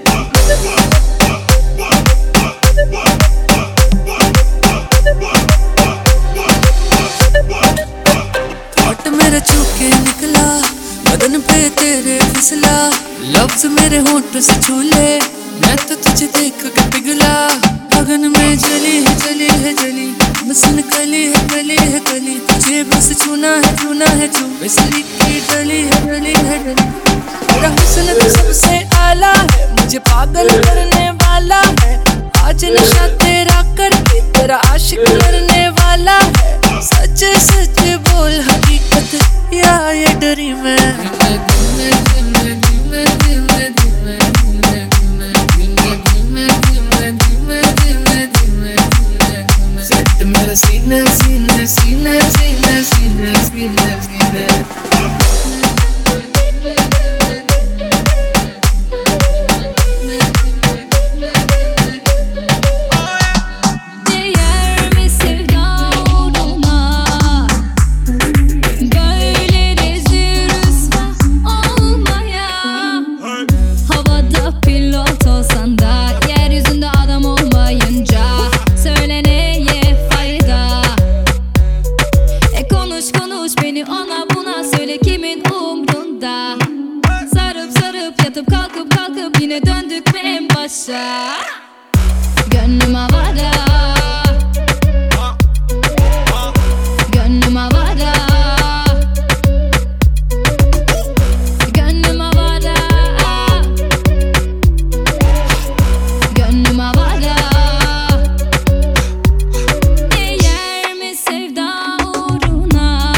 थॉट मेरा छूके निकला बदन पे तेरे फिसला लफ्ज मेरे होंठ से छूले मैं तो तुझे देख के पिघला अगन में जली है जली है जली मसन कली है कली है कली तुझे बस छूना है छू बिजली की डली है डली है डली तेरा हुस्न तो सबसे आला है मुझे पागल करने वाला है आज नशा तेरा करके तेरा आशिक करने वाला है सच सच बोल हकीकत या ये डरी मैं सीने सीने सीने सीने सीने सीने सीने Değer mi sevda uğruna? Böyle rezil rüsva olmaya. Havada pilot olsan da yeryüzünde adam olmayınca söyle neye fayda? Konuş konuş beni ona buna söyle kimin umrunda? Sarıp sarıp yatıp kalkıp kalkıp yine döndük mü en başa? Gönlüm havada, gönlüm havada, gönlüm havada, gönlüm havada. Değer mi sevda uğruna?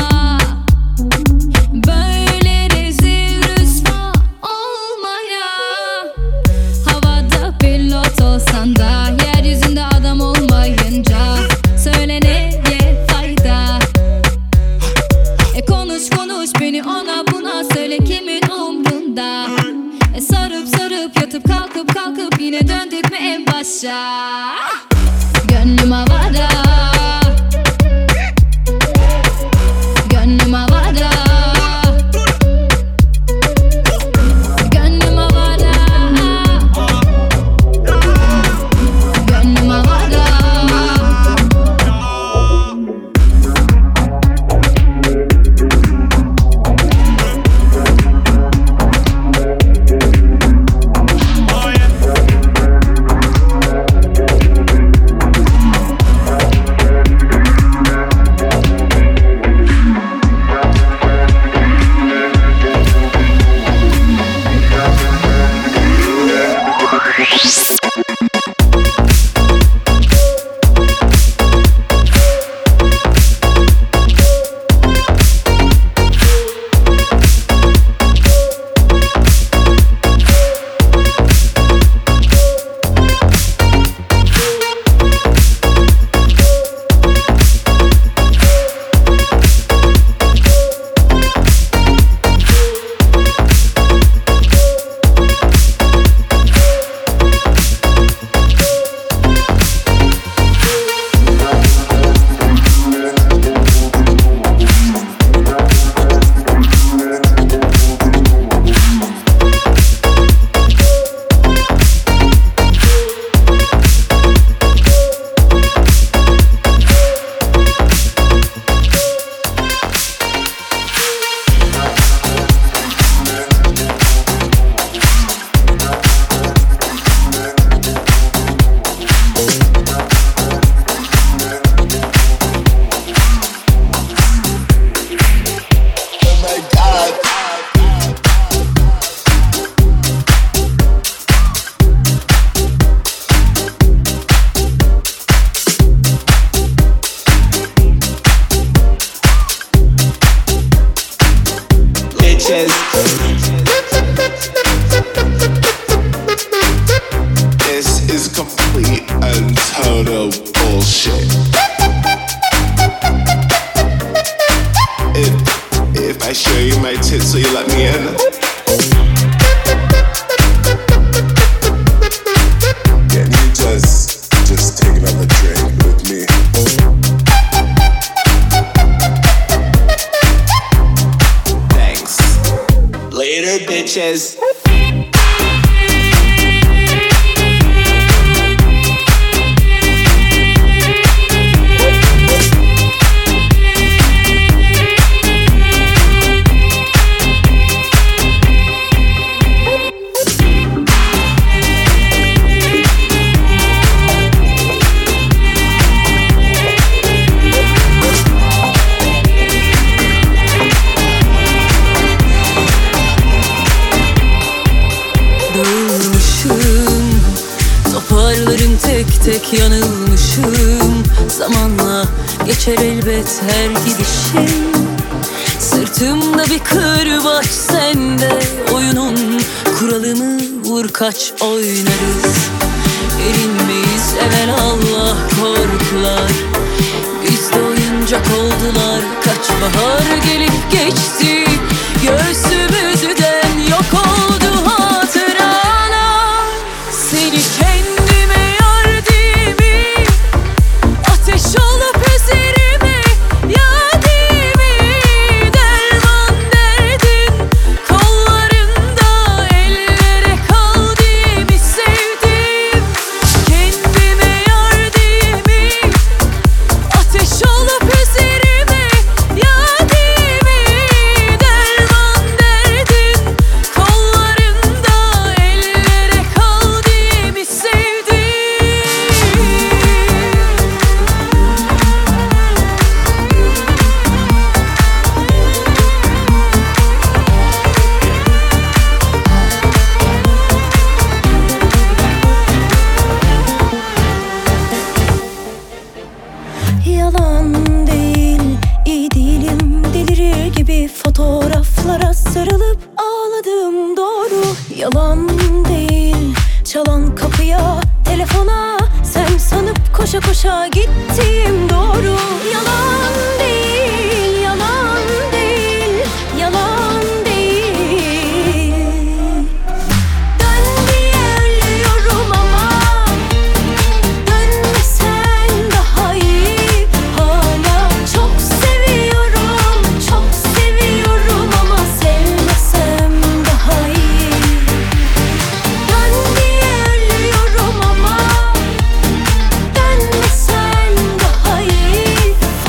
Böyle rezil rüsva olmaya. Havada pilot olsan da yeryüzünde adam olmayınca söyle neye fayda? Konuş konuş beni ona buna söyle kimin umrunda? Sarıp sarıp yatıp kalkıp kalkıp yine döndük mü en başa? Gönlüm havada, gönlüm havada, gönlüm havada, gönlüm havada. so you let me in. Can you just take another drink with me? Thanks. Later, bitches. Toparlarım tek tek yanılmışım. Zamanla geçer elbet her gidişim. Sırtımda bir kırbaç sende. Oyunun kuralımı vur kaç oynarız. Erinmeyiz evelallah korkular. Bizde oyuncak oldular. Kaç bahar gelip geçti. Göğsümüzden yok oldu hatıralar. Seni kendime yar değil mi? Ateş olup üzerime ya değil mi? Derman derdin kollarında ellere kal diye mi sevdim? Kendime yar değil mi? Ateş olup üzerime ya değil mi? Derman derdin kollarında ellere kal diye mi sevdim? Yalan değil, iyi değilim. Delirir gibi fotoğraflara sarılıp ağladım doğru. Yalan değil, çalan kapıya, telefona sen sanıp koşa koşa gittim doğru. Yalan değil, yalan değil, yalan değil. Dön diye ölüyorum ama dönmesen daha iyi. Hala çok seviyorum, çok seviyorum ama sevmesem daha iyi. Dön diye ölüyorum ama dönmesen daha iyi.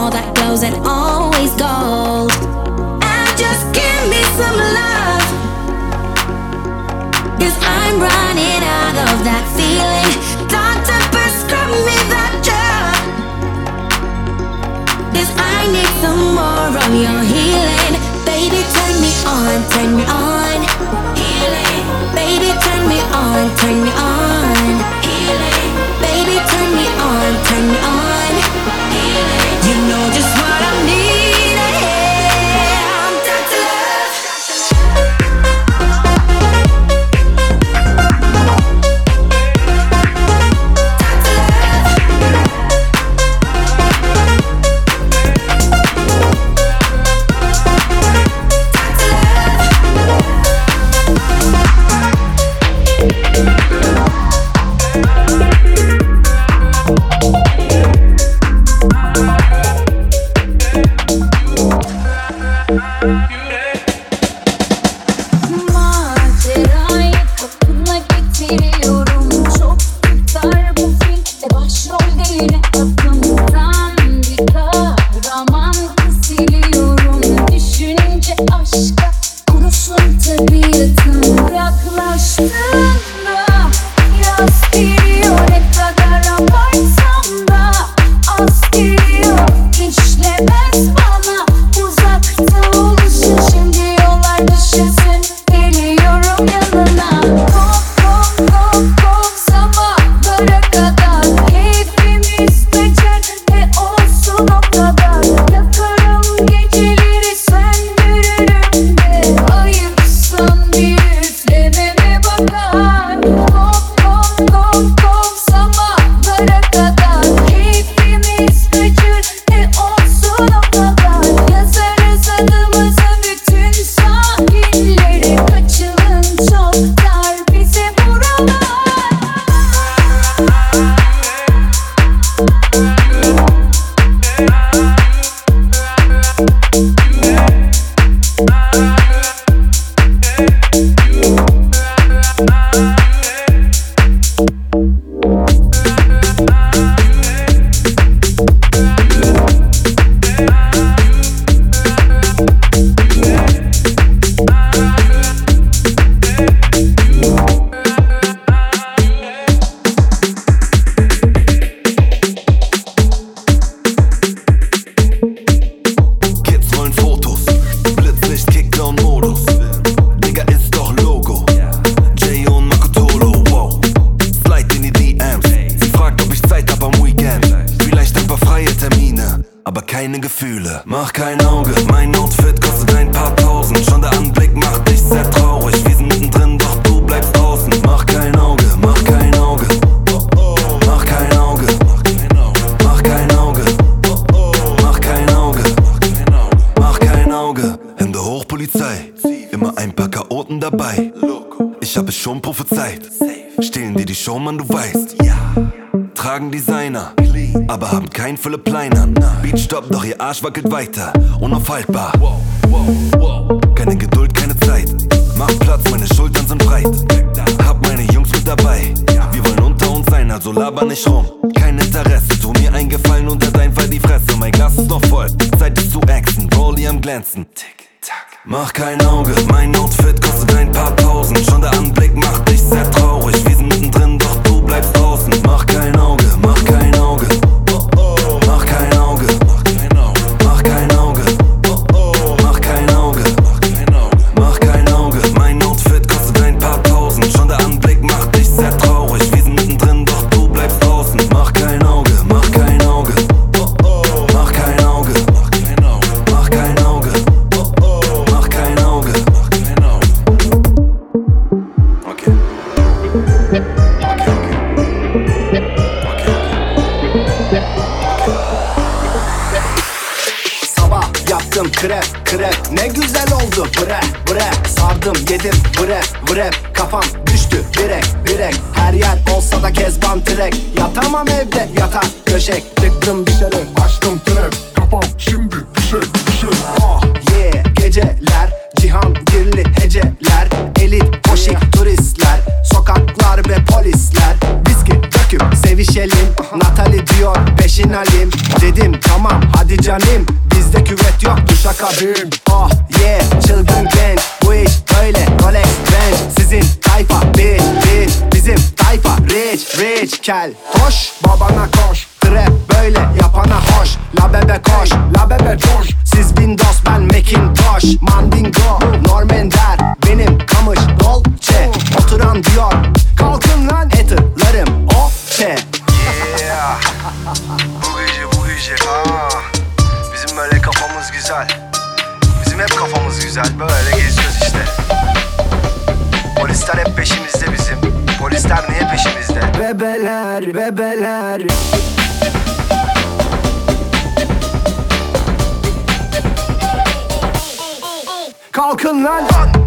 all that glows and always gold. And just give me some love, 'cause I'm running out of that feeling. Doctor, prescribe me that drug, 'cause I need some more of your healing. Baby, turn me on, turn me on. Healing. Baby, turn me on, turn me on. Healing. Baby, turn me on, turn me on. Healing. You know just what I need. I'm Dr. Love. Macerayı kapına getiriyorum. Çok tutar bu film ve başrolde yine aklımdan bir kahraman kesiliyorum. Düşünce aşka kurusun tabiatım. Yaklaştığında yaz geliyor, ne kadar abartsam da az geliyor. İşlemez bana uzakta oluşu, şimdi yollar düşesin, geliyorum yanına. Kov kov kov kov sabahlara kadar, keyfimiz kaçar ve olsun o kadar. Yakarım geceleri, söndürürüm de ayıpsan bir üflememe bakar. Kov kov kov kov sabahlara kadar, keyfimiz kaçar ve olsun o kadar. Yazarız adımızı bütün sahillere, kaçalım çok dar bize buralar. Kids wollen Fotos, Blitzlicht, Kickdown-Modus. Digga, ist doch Logo. Jay und Makotolo, wow. Slide in die DMs. Sie fragt, ob ich Zeit hab am Weekend. Vielleicht ein paar freie Termine, aber keine Gefühle. Mach kein Auge, mein Outfit kostet ein paar tausend. Schon der Anblick macht dich sehr traurig. Wir sind mittendrin, doch du bleibst draußen. Mach kein Auge, mach kein Auge. Mach kein Auge. Mach kein Auge. Mach kein Auge. Mach kein Auge. Hände hoch, Polizei. Immer ein paar Chaoten dabei. Ich hab es schon prophezeit. Stehlen dir die Show, Mann, du weißt. Tragen Designer, aber haben kein Philipp Plein an. Beatstopp, doch ihr Arsch wackelt weiter. Unaufhaltbar. Keine Geduld, keine Zeit. Mach Platz, meine Schultern sind breit. Hab meine Jungs mit dabei. Wir wollen unter uns sein, also laber nicht rum. Kein Interesse, tu mir einen Gefallen und halt einfach die Fresse. Mein Glas ist noch voll, Zeit ist zu axen. Rolli am Glänzen. Mach kein Auge, mein Outfit kostet ein paar tausend. Schon der Anblick macht dich sehr traurig. Wir sind mittendrin, doch du bleibst draußen. Mach kein Auge, mach kein Auge. Mach kein Auge. Mach kein Auge. Mach kein Auge. Mach kein Auge. Mein Outfit kostet ein paar tausend. Schon der Anblick macht dich sehr traurig. Wir sind mittendrin, doch du bleibst draußen. Mach kein Auge, mach kein Auge. Mach kein Auge. Mach kein Auge. Mach kein Auge. Okay. Sabah yaptım krep krep, ne güzel oldu bre bre. Sardım yedim bre bre, kafam düştü direk direk. Her yer olsa da kezban trek, yatamam evde yatak döşek. Tıktım dışarı açtım trap, kafam şimdi düşek düşek. Oh yeah, geceler cihangirli heceler, elit poşik turistler, sokaklar ve polisler. Viski döküp sevişelim, Natalie diyor peşin alim. Dedim tamam hadi Hadi canım bizde küvet yok duşakabin. Oh yeah çılgın genç bu iş böyle Rolex Range. Sizin tayfa bitch bizim tayfa rich kel. Koş babana koş trap böyle yapana hoş. La bebe koş la bebe coş. Siz Windows ben Macintosh. Mandingo Normender benim kamış Dolce. Oturan diyor kalkın lan haterlarım o şey. Yeah. Bu gece bizim böyle kafamız güzel. Bizim hep kafamız güzel. Böyle geziyoruz işte. Polisler hep peşimizde bizim. Polisler niye peşimizde? Bebeler kalkın lan.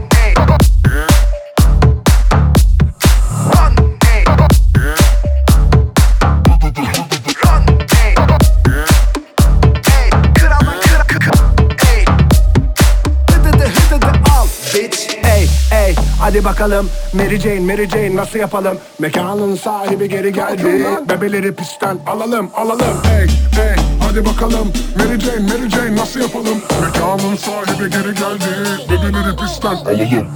Hadi bakalım Mary Jane nasıl yapalım? Mekanın sahibi geri geldi. Bebeleri pistten alalım. Hey hadi bakalım Mary Jane nasıl yapalım? Mekanın sahibi geri geldi. Bebeleri pistten alalım.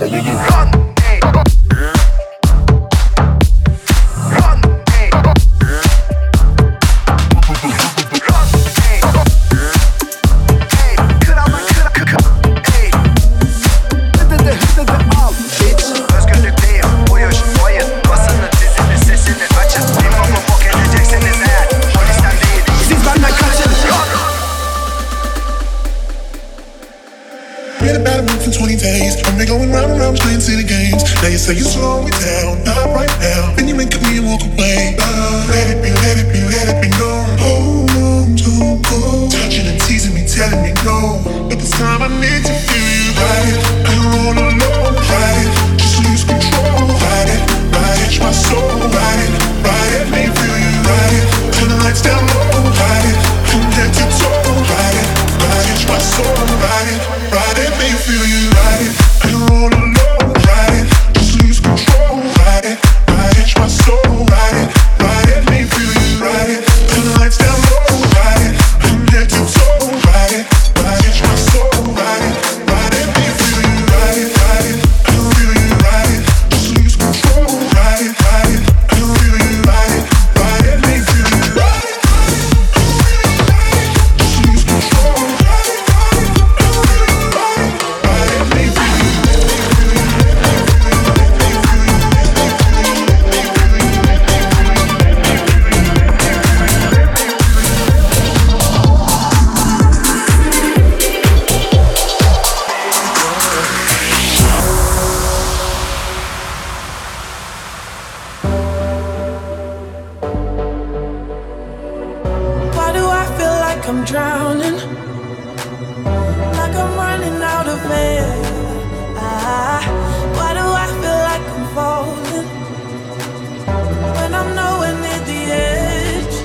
Going round and round playing city games. Now you say you slow me down, not right now. Then you wink at me and walk away. Let it be known. Hold on, don't go. Touching and teasing me, telling me no. But this time I need to feel you. Ride it, I don't wanna know. Ride it, just lose control. Ride it, catch my soul. Ride it, me feel you. Ride it, turn the lights down low. Ride it, from head to toe. Ride it, catch my soul. Ride it, me feel you. Ride it. All alone, ride it, just lose control, ride it, catch my soul, ride it, me feel you, ride it, turn the lights down low, ride it, from head to toe, ride it, catch my soul, ride it, me feel you, ride it, I feel you, ride it, just lose control, ride it, I feel you, ride it, me feel you, ride it, just lose control, ride it, me feel you. I'm drowning, like I'm running out of air. Why do I feel like I'm falling when I'm nowhere near the edge?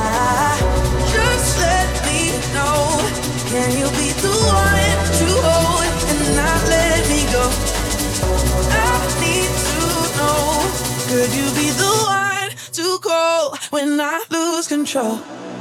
Just let me know, can you be the one to hold and not let me go? I need to know, could you be the one to call when I lose control?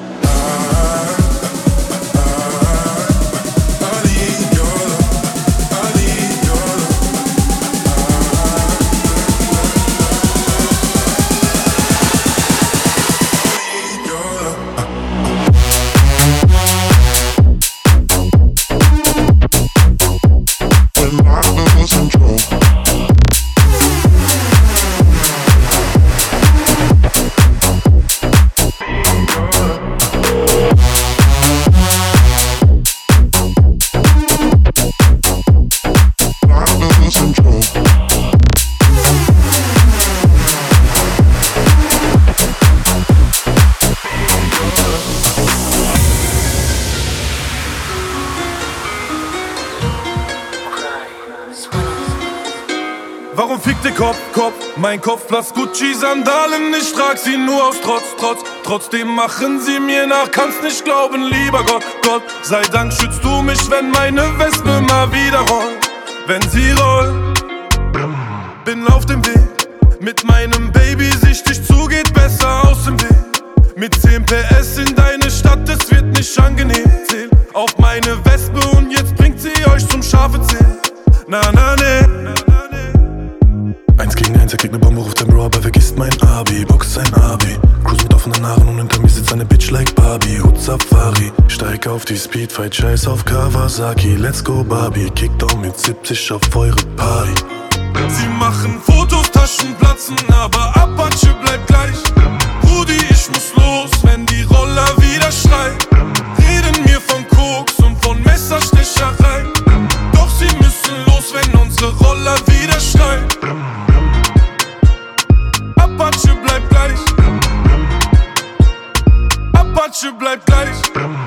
Warum fickt der Kopf? Mein Kopf platzt Gucci-Sandalen, ich trag sie nur aus Trotz. Trotzdem machen sie mir nach, kannst nicht glauben, lieber Gott. Sei Dank schützt du mich, wenn meine Wespe mal wieder rollt. Wenn sie rollt, bin auf dem Weg. Mit meinem Baby sichtig zu, geht besser aus dem Weg. Mit 10 PS in deine Stadt, es wird nicht angenehm. Safari. Steig auf die Speedfight, scheiß auf Kawasaki. Let's go Barbie, Kickdown mit 70 auf eure Party. Sie machen Fotos, Taschen platzen, aber Apache bleibt gleich. Rudi, ich muss los, wenn die Roller wieder schreien. Reden mir von Koks und von Messerstecherei. Doch sie müssen los, wenn unsere Roller wieder schreien. Apache bleibt gleich. Apache bleibt gleich.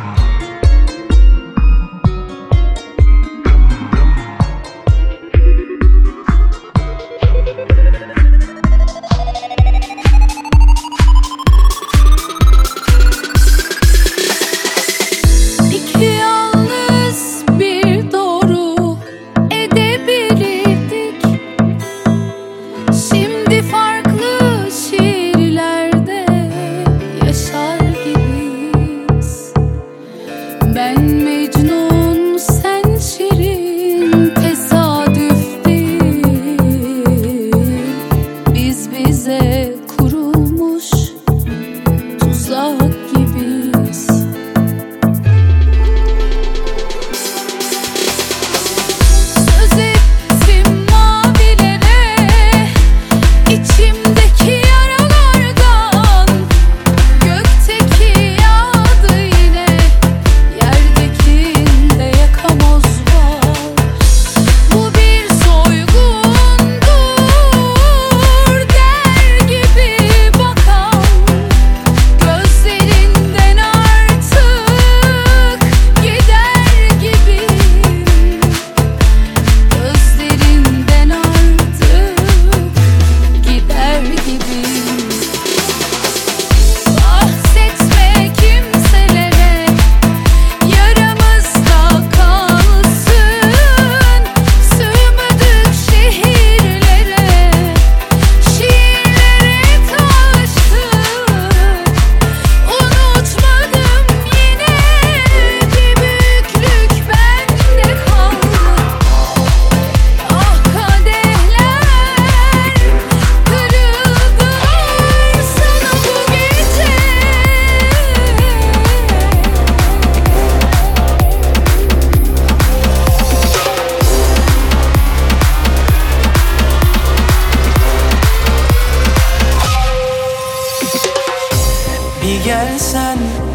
Gelsen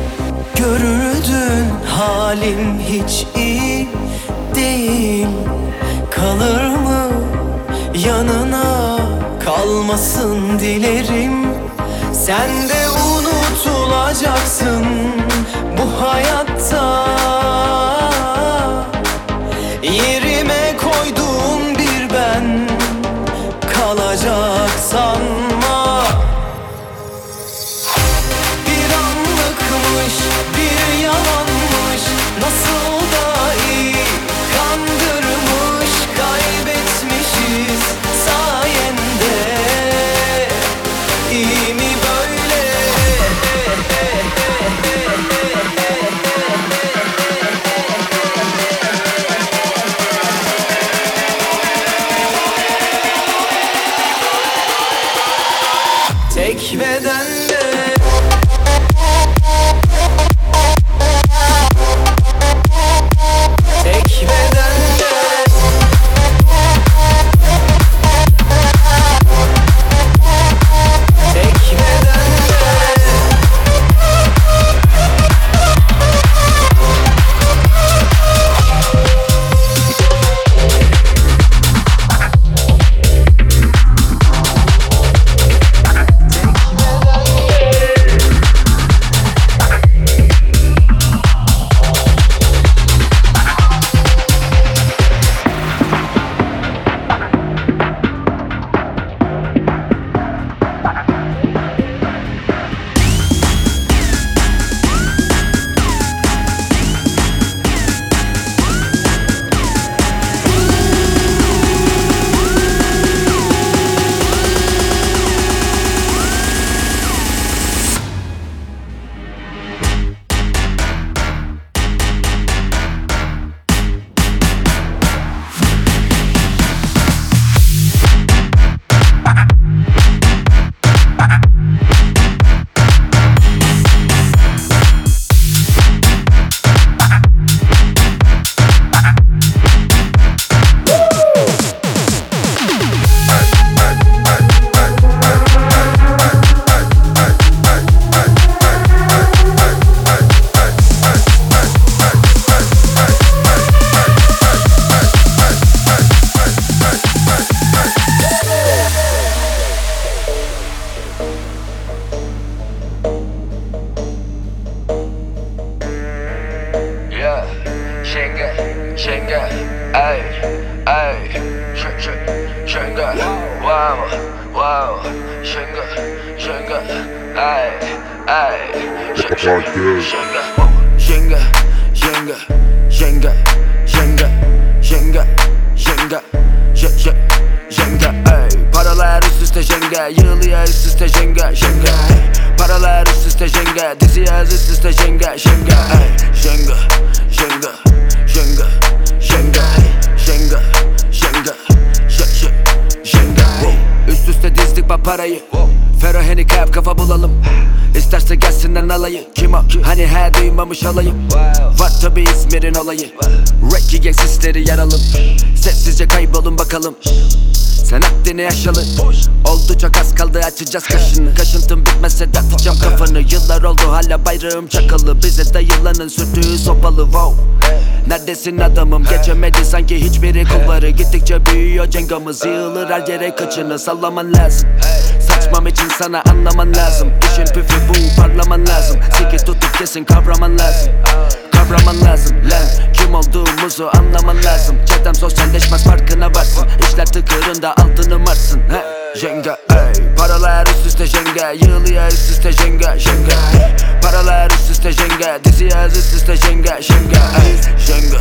görürdün halim hiç iyi değil. Kalır mı yanına kalmasın dilerim. Sen de unutulacaksın bu hayatta. Yerime koyduğum bir ben kalacak sanma. Bir yalanmış, nasıl da iyi kandırmış, kaybetmişiz sayende. İyi mi böyle? Jenga, ay, Jenga, wow, Jenga, ay, Jenga, ay. Paralar üst üste Jenga, yığılıyor üst üste Jenga, ay. Paralar üst üste Jenga, dizi yaz üst üste Jenga, ay. Jenga, üst üste dizdik bak parayı. Fero handicap kafa bulalım. İsterse gelsinler alayı. Kim o? Hani he duymamış olayım. Var tabi İzmir'in olayı. Reggae gang sisleri yaralım. Sessizce kaybolun bakalım. Sen haddini yaşalı. Oldu çok az kaldı açacağız kaşını. Kaşıntım bitmezse atacağım kafanı. Yıllar oldu hala bayrağım çakalı. Bize dayılanın sürtüğü sopalı wow. Neredesin adamım? Geçemedi sanki hiçbiri kulları. Gittikçe büyüyor cengamız. Yığılır her yere kaçını sallaman lazım. Saçmam için sana anlaman lazım. İşin püfü bu parlaman lazım. Siki tutup kesin kavraman lazım. Kavraman lazım lan. Kim olduğumuzu anlaman lazım. Çetem sosyalleşmez farkına varsın. İşler tıkırında altını marsın. Jenga, ay. Paralar üst üste Jenga, yığılıyor üst üste Jenga, ay. Paralar üst üste Jenga, dizi yaz üst üste Jenga, ay. Jenga,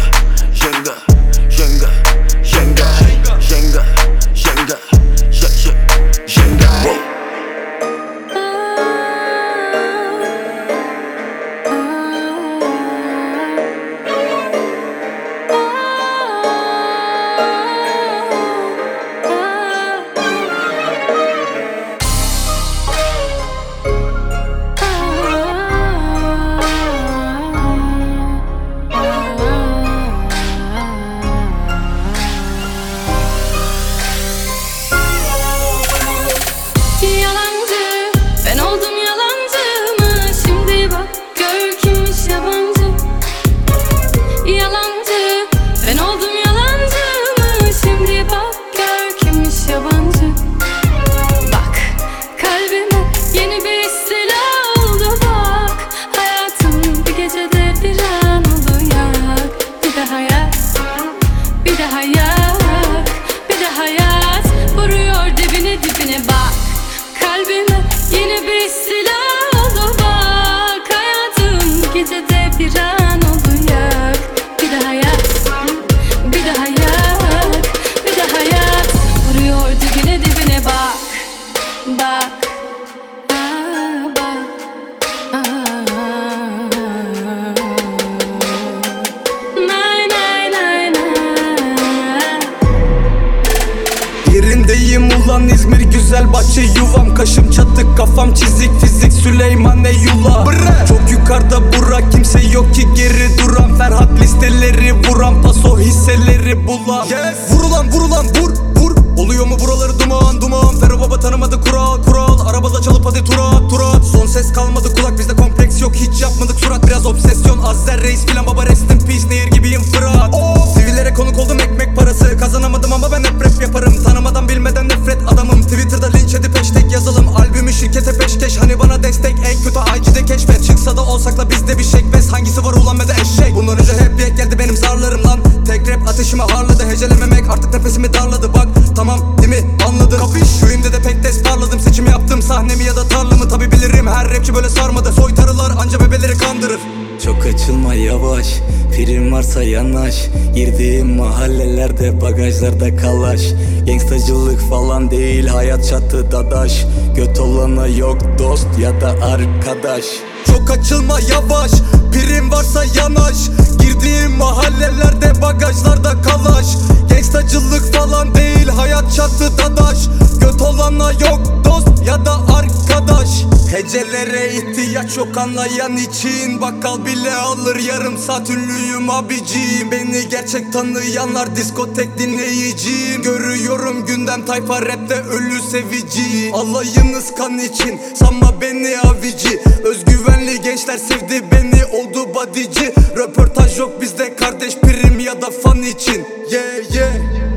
Ulan İzmir güzel bahçe yuvam. Kaşım çatık kafam çizik fizik Süleyman Eyullah. Çok yukarıda bura kimse yok ki geri duran. Ferhat listeleri vuran paso hisseleri bulan. Vurulan vur oluyor mu buraları duman. Fero baba tanımadı kural. Arabada çalıp hadi turat. Son ses kalmadı kulak bizde kompleks yok. Hiç yapmadık surat biraz obsesyon. Azzer reis filan baba rest in peace. Nehir gibiyim Fırat. Sivillere konuk oldum ekmek parası. Kazanamadım ama ben hep rap yaparım. Tanımadan bilmeden nefret adamım. Twitter'da linç edip hashtag yazalım. Albümü şirkete peşkeş. Hani bana destek en kötü IG'de keşfet. Çıksa da olsak da bizde bir şekbez. Hangisi var ulan ve de eşek. Bundan önce hep yek geldi benim zarlarım lan. Tek rap ateşime harladı. Hecelememek artık nefesimi darladı. Bak tamam değil mi anladın. Köyümde de pek des parladım. Seçimi yaptım sahnemi ya da tarlamı. Tabi bilirim her rapçi böyle sarmadı. Soytarılar anca bebeleri kandırır. Çok açılma yavaş, prim varsa yanaş. Girdiğim mahallelerde bagajlarda kalaş. Gangstacılık falan değil hayat çatı dadaş. Göt olana yok dost ya da arkadaş. Çok açılma yavaş, prim varsa yanaş. Girdiğim mahallelerde bagajlarda kalaş. Gangstacılık falan değil hayat çatı dadaş. Göt olana yok dost ya da arkadaş. Hecelere ihtiyaç yok anlayan için. Bakkal bile alır yarım saat ünlüyüm abicim. Beni gerçek tanıyanlar diskotek dinleyicim. Görüyorum gündem tayfa rapte ölü sevici. Alayınız kan için sanma beni avici. Özgüvenli gençler sevdi beni oldu bodyci. Röportaj yok bizde kardeş prim ya da fan için. Yeah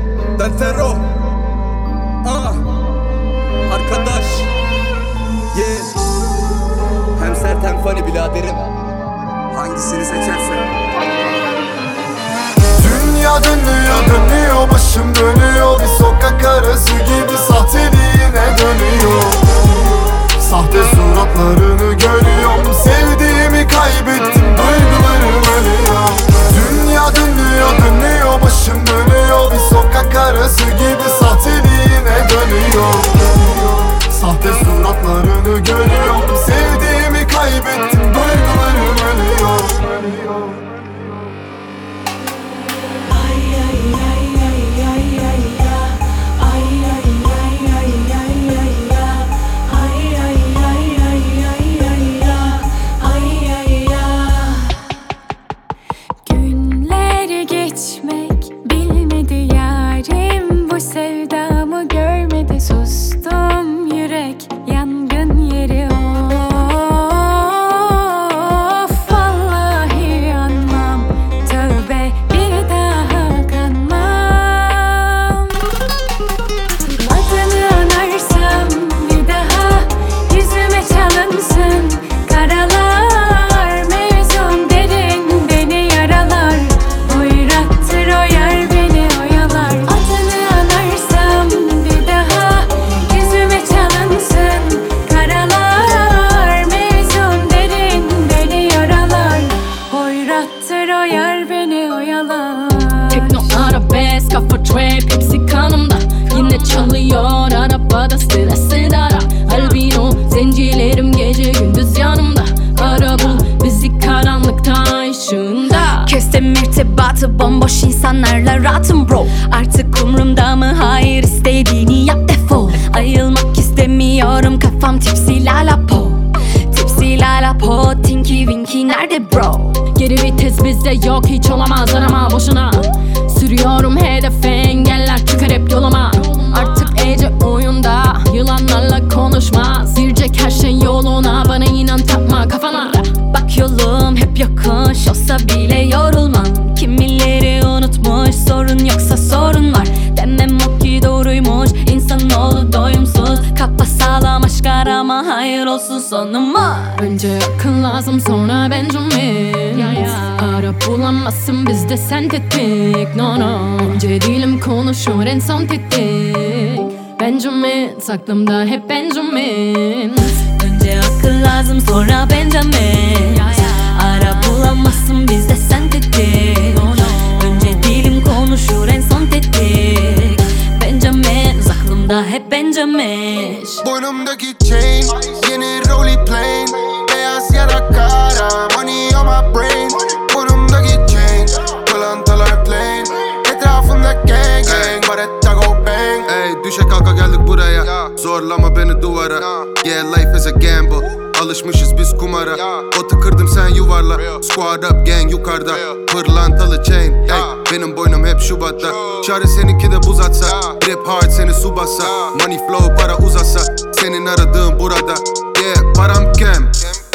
ben Fero arkadaş. Hem sert hem funny biraderim. Hangisini seçersen. Dünya dönüyor dönüyor, başım dönüyor. Bir sokak arası gibi sahteliğine dönüyor. Sahte suratlarını görüyorum, sevdiğimi kaybettim, duygularım ölüyor. Dünya dönüyor dönüyor, başım dönüyor. Bir sokak arası gibi sahteliğine dönüyor. Sahte suratlarını görüyorum, sevdiğimi kaybettim, duygularım ölüyor. Günler geçmek bilmedi yarim, bu sevdamı görmedi, sustum yürek yangın yeri. Of vallahi yanmam, tövbe bir daha kanmam. Adını anarsam bir daha yüzüme çalınsın karalar, mevzum derin beni yaralar, oyrattır o yer beni oyalar. Adını anarsam bir daha yüzüme çalınsın karalar, mevzum derin beni yaralar, oyrattır o yer beni oyalar. Tekno, arabesk, kafa trap hepsi kanımda. Yine çalıyor arabada sıra sıra. Albino zencilerim gece gündüz yanımda. Ara bul bizi karanlıkta ışığında. Kestim irtibatı bomboş insanlarla rahatım bro. Artık umrumda mı? Hayır, istediğini yap defol. Ayılmak istemiyorum, kafam tipsi lalapo. Tipsi lalapo, tinky winky nerede bro? Geri vites bizde yok, hiç olamaz, arama boşuna. Sürüyorum hedefe, engeller çıkar hep yoluma. Artık Ece oyunda, yılanlarla konuşmaz. Girecek her şey yoluna, bana inan, takma kafana. Bak yolum hep yokuş, olsa bile yorulmam. Kimileri unutmuş, sorun yoksa sorun var. Demem o ki doğruymuş, insanoğlu doyumsuz. Kafa sağlam aşk arama, hayır olsun sonuma. Önce akıl lazım, sonra Benjamin. Ara bulamazsın bizde sentetik, no no. Önce dilim konuşur, en son tetik. Benjamin, aklımda hep Benjamin. Önce akıl lazım, sonra Benjamin. Ara bulamazsın bizde sentetik. Önce dilim konuşur, en son tetik. Benjamin, aklımda hep Benjamin. Boynumdaki chain, yeni rolly plane. Beyaz yara kara, money on my brain. Boynumdaki chain, pırlantalar plain. Etrafımda gang gang, baretta go bang. Ey düşe kalka geldik buraya, zorlama beni duvara. Yeah, life is a gamble, alışmışız biz kumara. Otu kırdım sen yuvarla, squad up gang yukarıda. Pırlantalı chain, ey benim boynum hep Şubat'ta. Şari seninki de buz atsa, rap hard seni su bassa. Money flow para uzasa, senin aradığın burada. Yeah, param kem,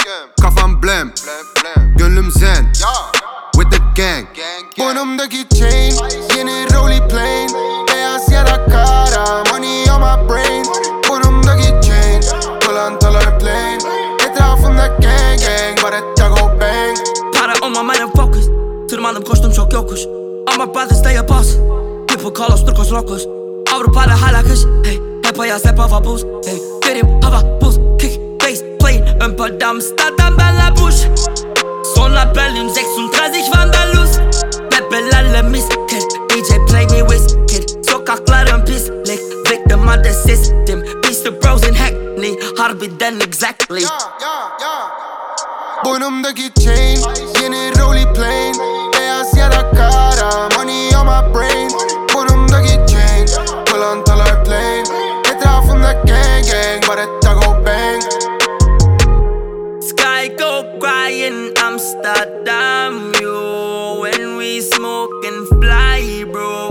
kafam blam, gönlüm zen, with the gang. Boynumdaki chain, yeni rolly plane. Beyaz yara kara, money on my brain. Boynumdaki chain, pırlantalar plain. Etrafımda gang gang, baretta go bang. Para on my mind and focus. Tırmandım koştum çok yokuş, ama brothers stay a boss. People call us turcos locos. Avrupa'da hala kış, hey. Hep ayaz hep hava buz, hey. Verim hava buz, kick, bass, play. Ön perde Amsterdam, benle buş. Sonra Berlin 36 Vandalus. Bebelerle misket, DJ play me whiskey. Sokakların pislik, victim of the system. Beast bros in Hackney, harbiden exactly. Boynumdaki chain, yeni rolly plane. Beyaz yara kara, money on my brain. Boynumdaki chain, pırlantalar plain. Etrafımda gang gang, baretta go bang. Sky go crying Amsterdam, yo. When we smoke and fly, bro.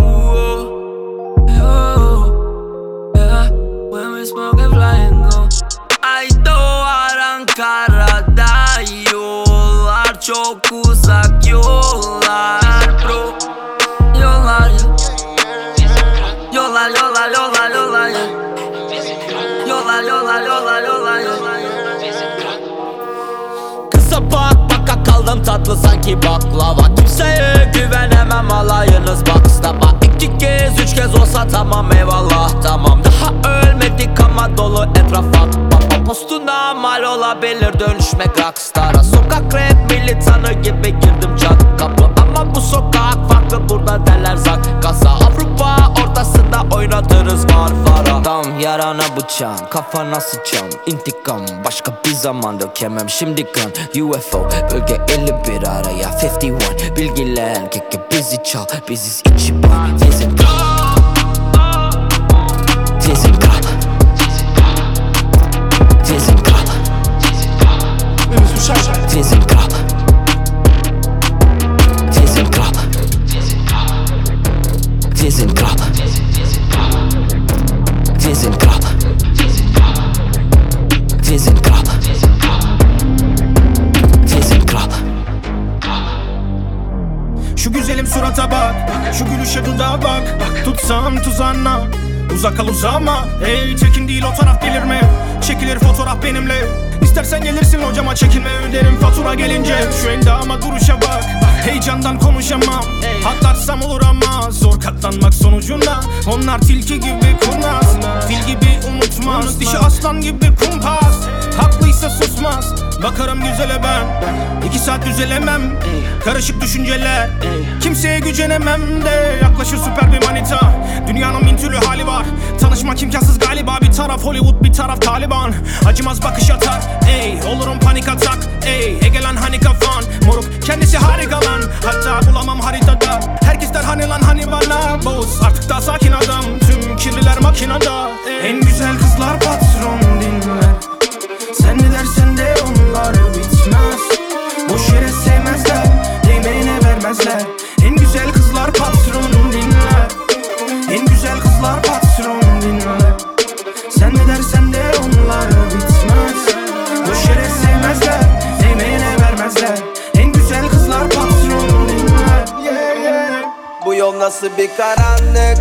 Yo, yeah. When we smoke and fly and go. I do Ankara'da yollar çok Tadım tatlı sanki baklava. Kimseye güvenemem, alayınız bakstaba. 2 kez 3 kez olsa tamam eyvallah tamam. Daha ölmedik ama dolu etraf baba. Postuna mal olabilir dönüşmek rockstara. Sokak rap militanı gibi girdim çat kapı. Ama bu sokak farklı, burada derler zak kasa. Avrupa ortasında oynatırız Marmara. Tam yarana bıçağım, kafana sıçam. İntikam başka bir zaman dökemem şimdi kan. UFO bölge 51 araya 51. Bilgilen keke bizi çal, biziz içi ban. Tezin kal, tezin kal, tezin kal, tezin kal, tezin kal, tezin kal, tezin kal, tezin kal, tezin kal. Şu güzelim surata bak, şu gülüşe dudağa bak. Tutsam tuzağına, uzak kal uzağıma. Ey tekin değil o taraf delirme, çekilir fotoğraf benimle. İstersen gelirsin hocama, çekinme öderim fatura gelince. Şu endama duruşa bak, heyecandan konuşamam. Atlarsam olur ama zor katlanmak sonucunda. Onlar tilki gibi kurnaz, fil gibi unutmaz. Dişi aslan gibi kumpas, haklıysa susmaz. Bakarım güzele ben, 2 saat düzelemem. Karışık düşünceler, kimseye gücenemem de. Yaklaşır süper bir manita, dünyanın bin türlü hali var. Tanışmak imkansız galiba, bir taraf Hollywood bir taraf Taliban. Acımaz bakış atar, ey olurum panik atak. Ey Egelan hani kafan, moruk kendisi harika lan. Hatta bulamam haritada, herkes der hani lan hani bana. Boz artık daha sakin adam, tüm kirliler makinada. En güzel kızlar patron dinler, sen ne dersen de onlar bitmez. Boş yere sevmezler, değmeyine vermezler. En güzel kızlar patron dinler, en güzel kızlar patron dinler. Sen ne dersen de onlar bitmez. Boş yere sevmezler, değmeyine vermezler. En güzel kızlar patron dinler. Yeah, yeah. Bu yol nasıl bir karanlık,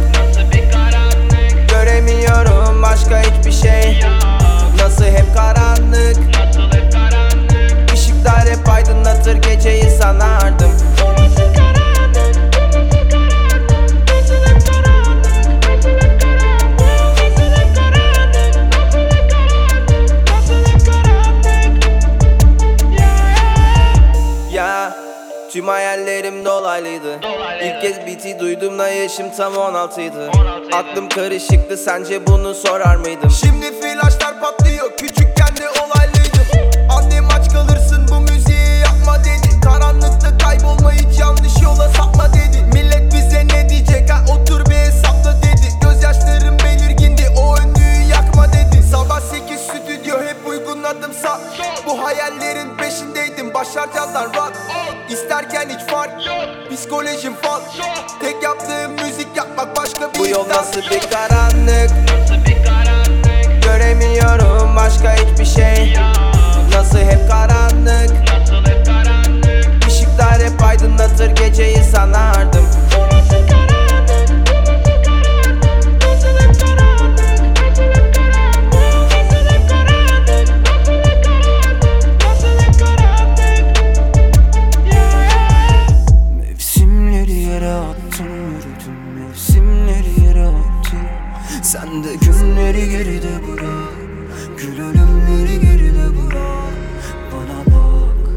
göremiyorum başka hiçbir şey. Nasıl hep karanlık, ışıklar hep aydınlatır geceyi sanardım. Ya tüm hayallerim dolaylıydı. İlk kez beat'i duyduğumda yaşım tam 16'ydı. Aklım karışıktı, sence bunu sorar mıydım? Şimdi flaşlar patlıyor, küçükken de olaylıydım. Annem aç kalırsın bu müziği yapma dedi. Karanlıkta kaybolma, hiç yanlış yola sapma dedi. Millet bize ne diyecek, ha otur bir hesapla dedi. Gözyaşlarım belirgindi, o önlüğü yakma dedi. Sabah 8 stüdyo hep uygun adımsa. Bu hayallerin peşindeydim, başaracağızlar rock. İsterken hiç fark, psikolojim fal. Tek yaptığım müzik yapmak, başka bir bu yol nasıl bir karanlık, göremiyorum başka hiçbir şey. Nasıl hep karanlık, ışıklar hep aydınlatır geceyi sanardım. Mevsimleri yere attım, yürüdüm mevsimleri yere attım. Sen de günleri geride bırak, gül ölümleri geride bırak. Bana bak.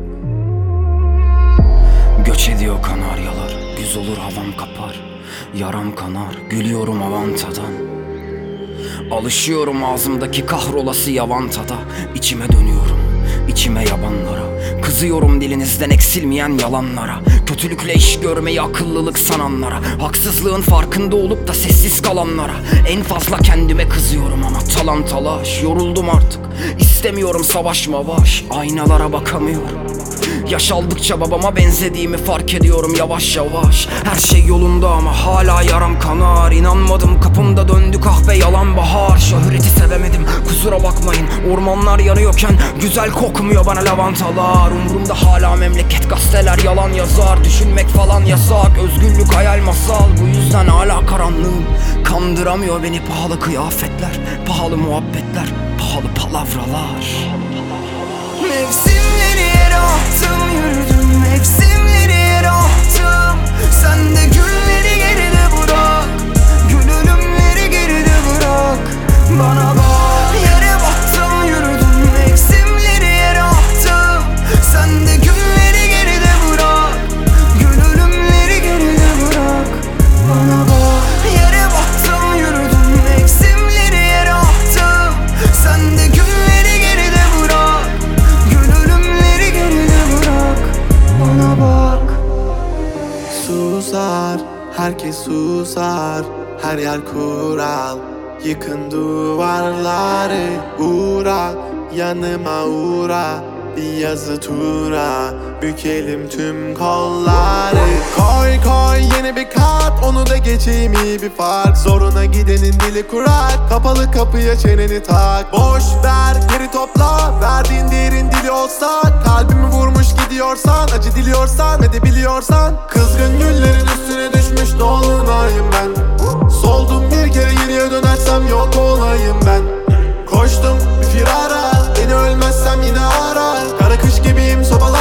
Göç ediyor kanaryalar, güz olur havam kapar. Yaram kanar, gülüyorum avantadan. Alışıyorum ağzımdaki kahrolası yavantada. İçime dönüyorum, içime yabanlara. Kızıyorum dilinizden eksilmeyen yalanlara. Kötülükle iş görmeyi akıllılık sananlara. Haksızlığın farkında olup da sessiz kalanlara. En fazla kendime kızıyorum ama talan talaş. Yoruldum artık, istemiyorum savaş mavaş. Aynalara bakamıyorum. Yaş aldıkça babama benzediğimi fark ediyorum yavaş yavaş. Her şey yolunda ama hala yaram kanar. İnanmadım, kapımda döndü kahve yalan bahar. Şöhreti sevemedim, kusura bakmayın. Ormanlar yanıyorken güzel kokmuyor bana lavantalar. Umurumda hala memleket, gazeteler yalan yazar. Düşünmek falan yasak, özgürlük hayal masal. Bu yüzden hala karanlığım kandıramıyor beni. Pahalı kıyafetler, pahalı muhabbetler, pahalı palavralar. Mevsimleri yere attım, yürüdüm mevsimleri yere attım. Sen de gülleri geride bırak, gül ölümleri geride bırak. Bana bak, yere baktım, yürüdüm mevsimleri yere attım. Sen de gülleri geride bırak, gül ölümleri geride bırak. Bana bak, yere baktım, yürüdüm mevsimleri yere attım. Sen de gülleri geride bırak, gül ölümleri geride bırak. Bana bak. Susar, herkes susar, her yer kural. Yıkın duvarları, uğra, yanıma uğra. Bir yazı tura, bükelim tüm kolları. Koy koy yeni bir kat, onu da geçeyim iyi bir fark. Zoruna gidenin dili kurak, kapalı kapıya çeneni tak. Boş ver geri topla, verdiğin değerin dili olsa. Kalbimi vurmuş gidiyorsan, acı diliyorsan ve de biliyorsan. Kızgın güllerin üstüne düşmüş dolunayım ben. Soldum bir kere geriye dönersem yok olayım ben. Koştum bir firara, beni ölmezsem yine ara. Kara kış gibiyim sobalar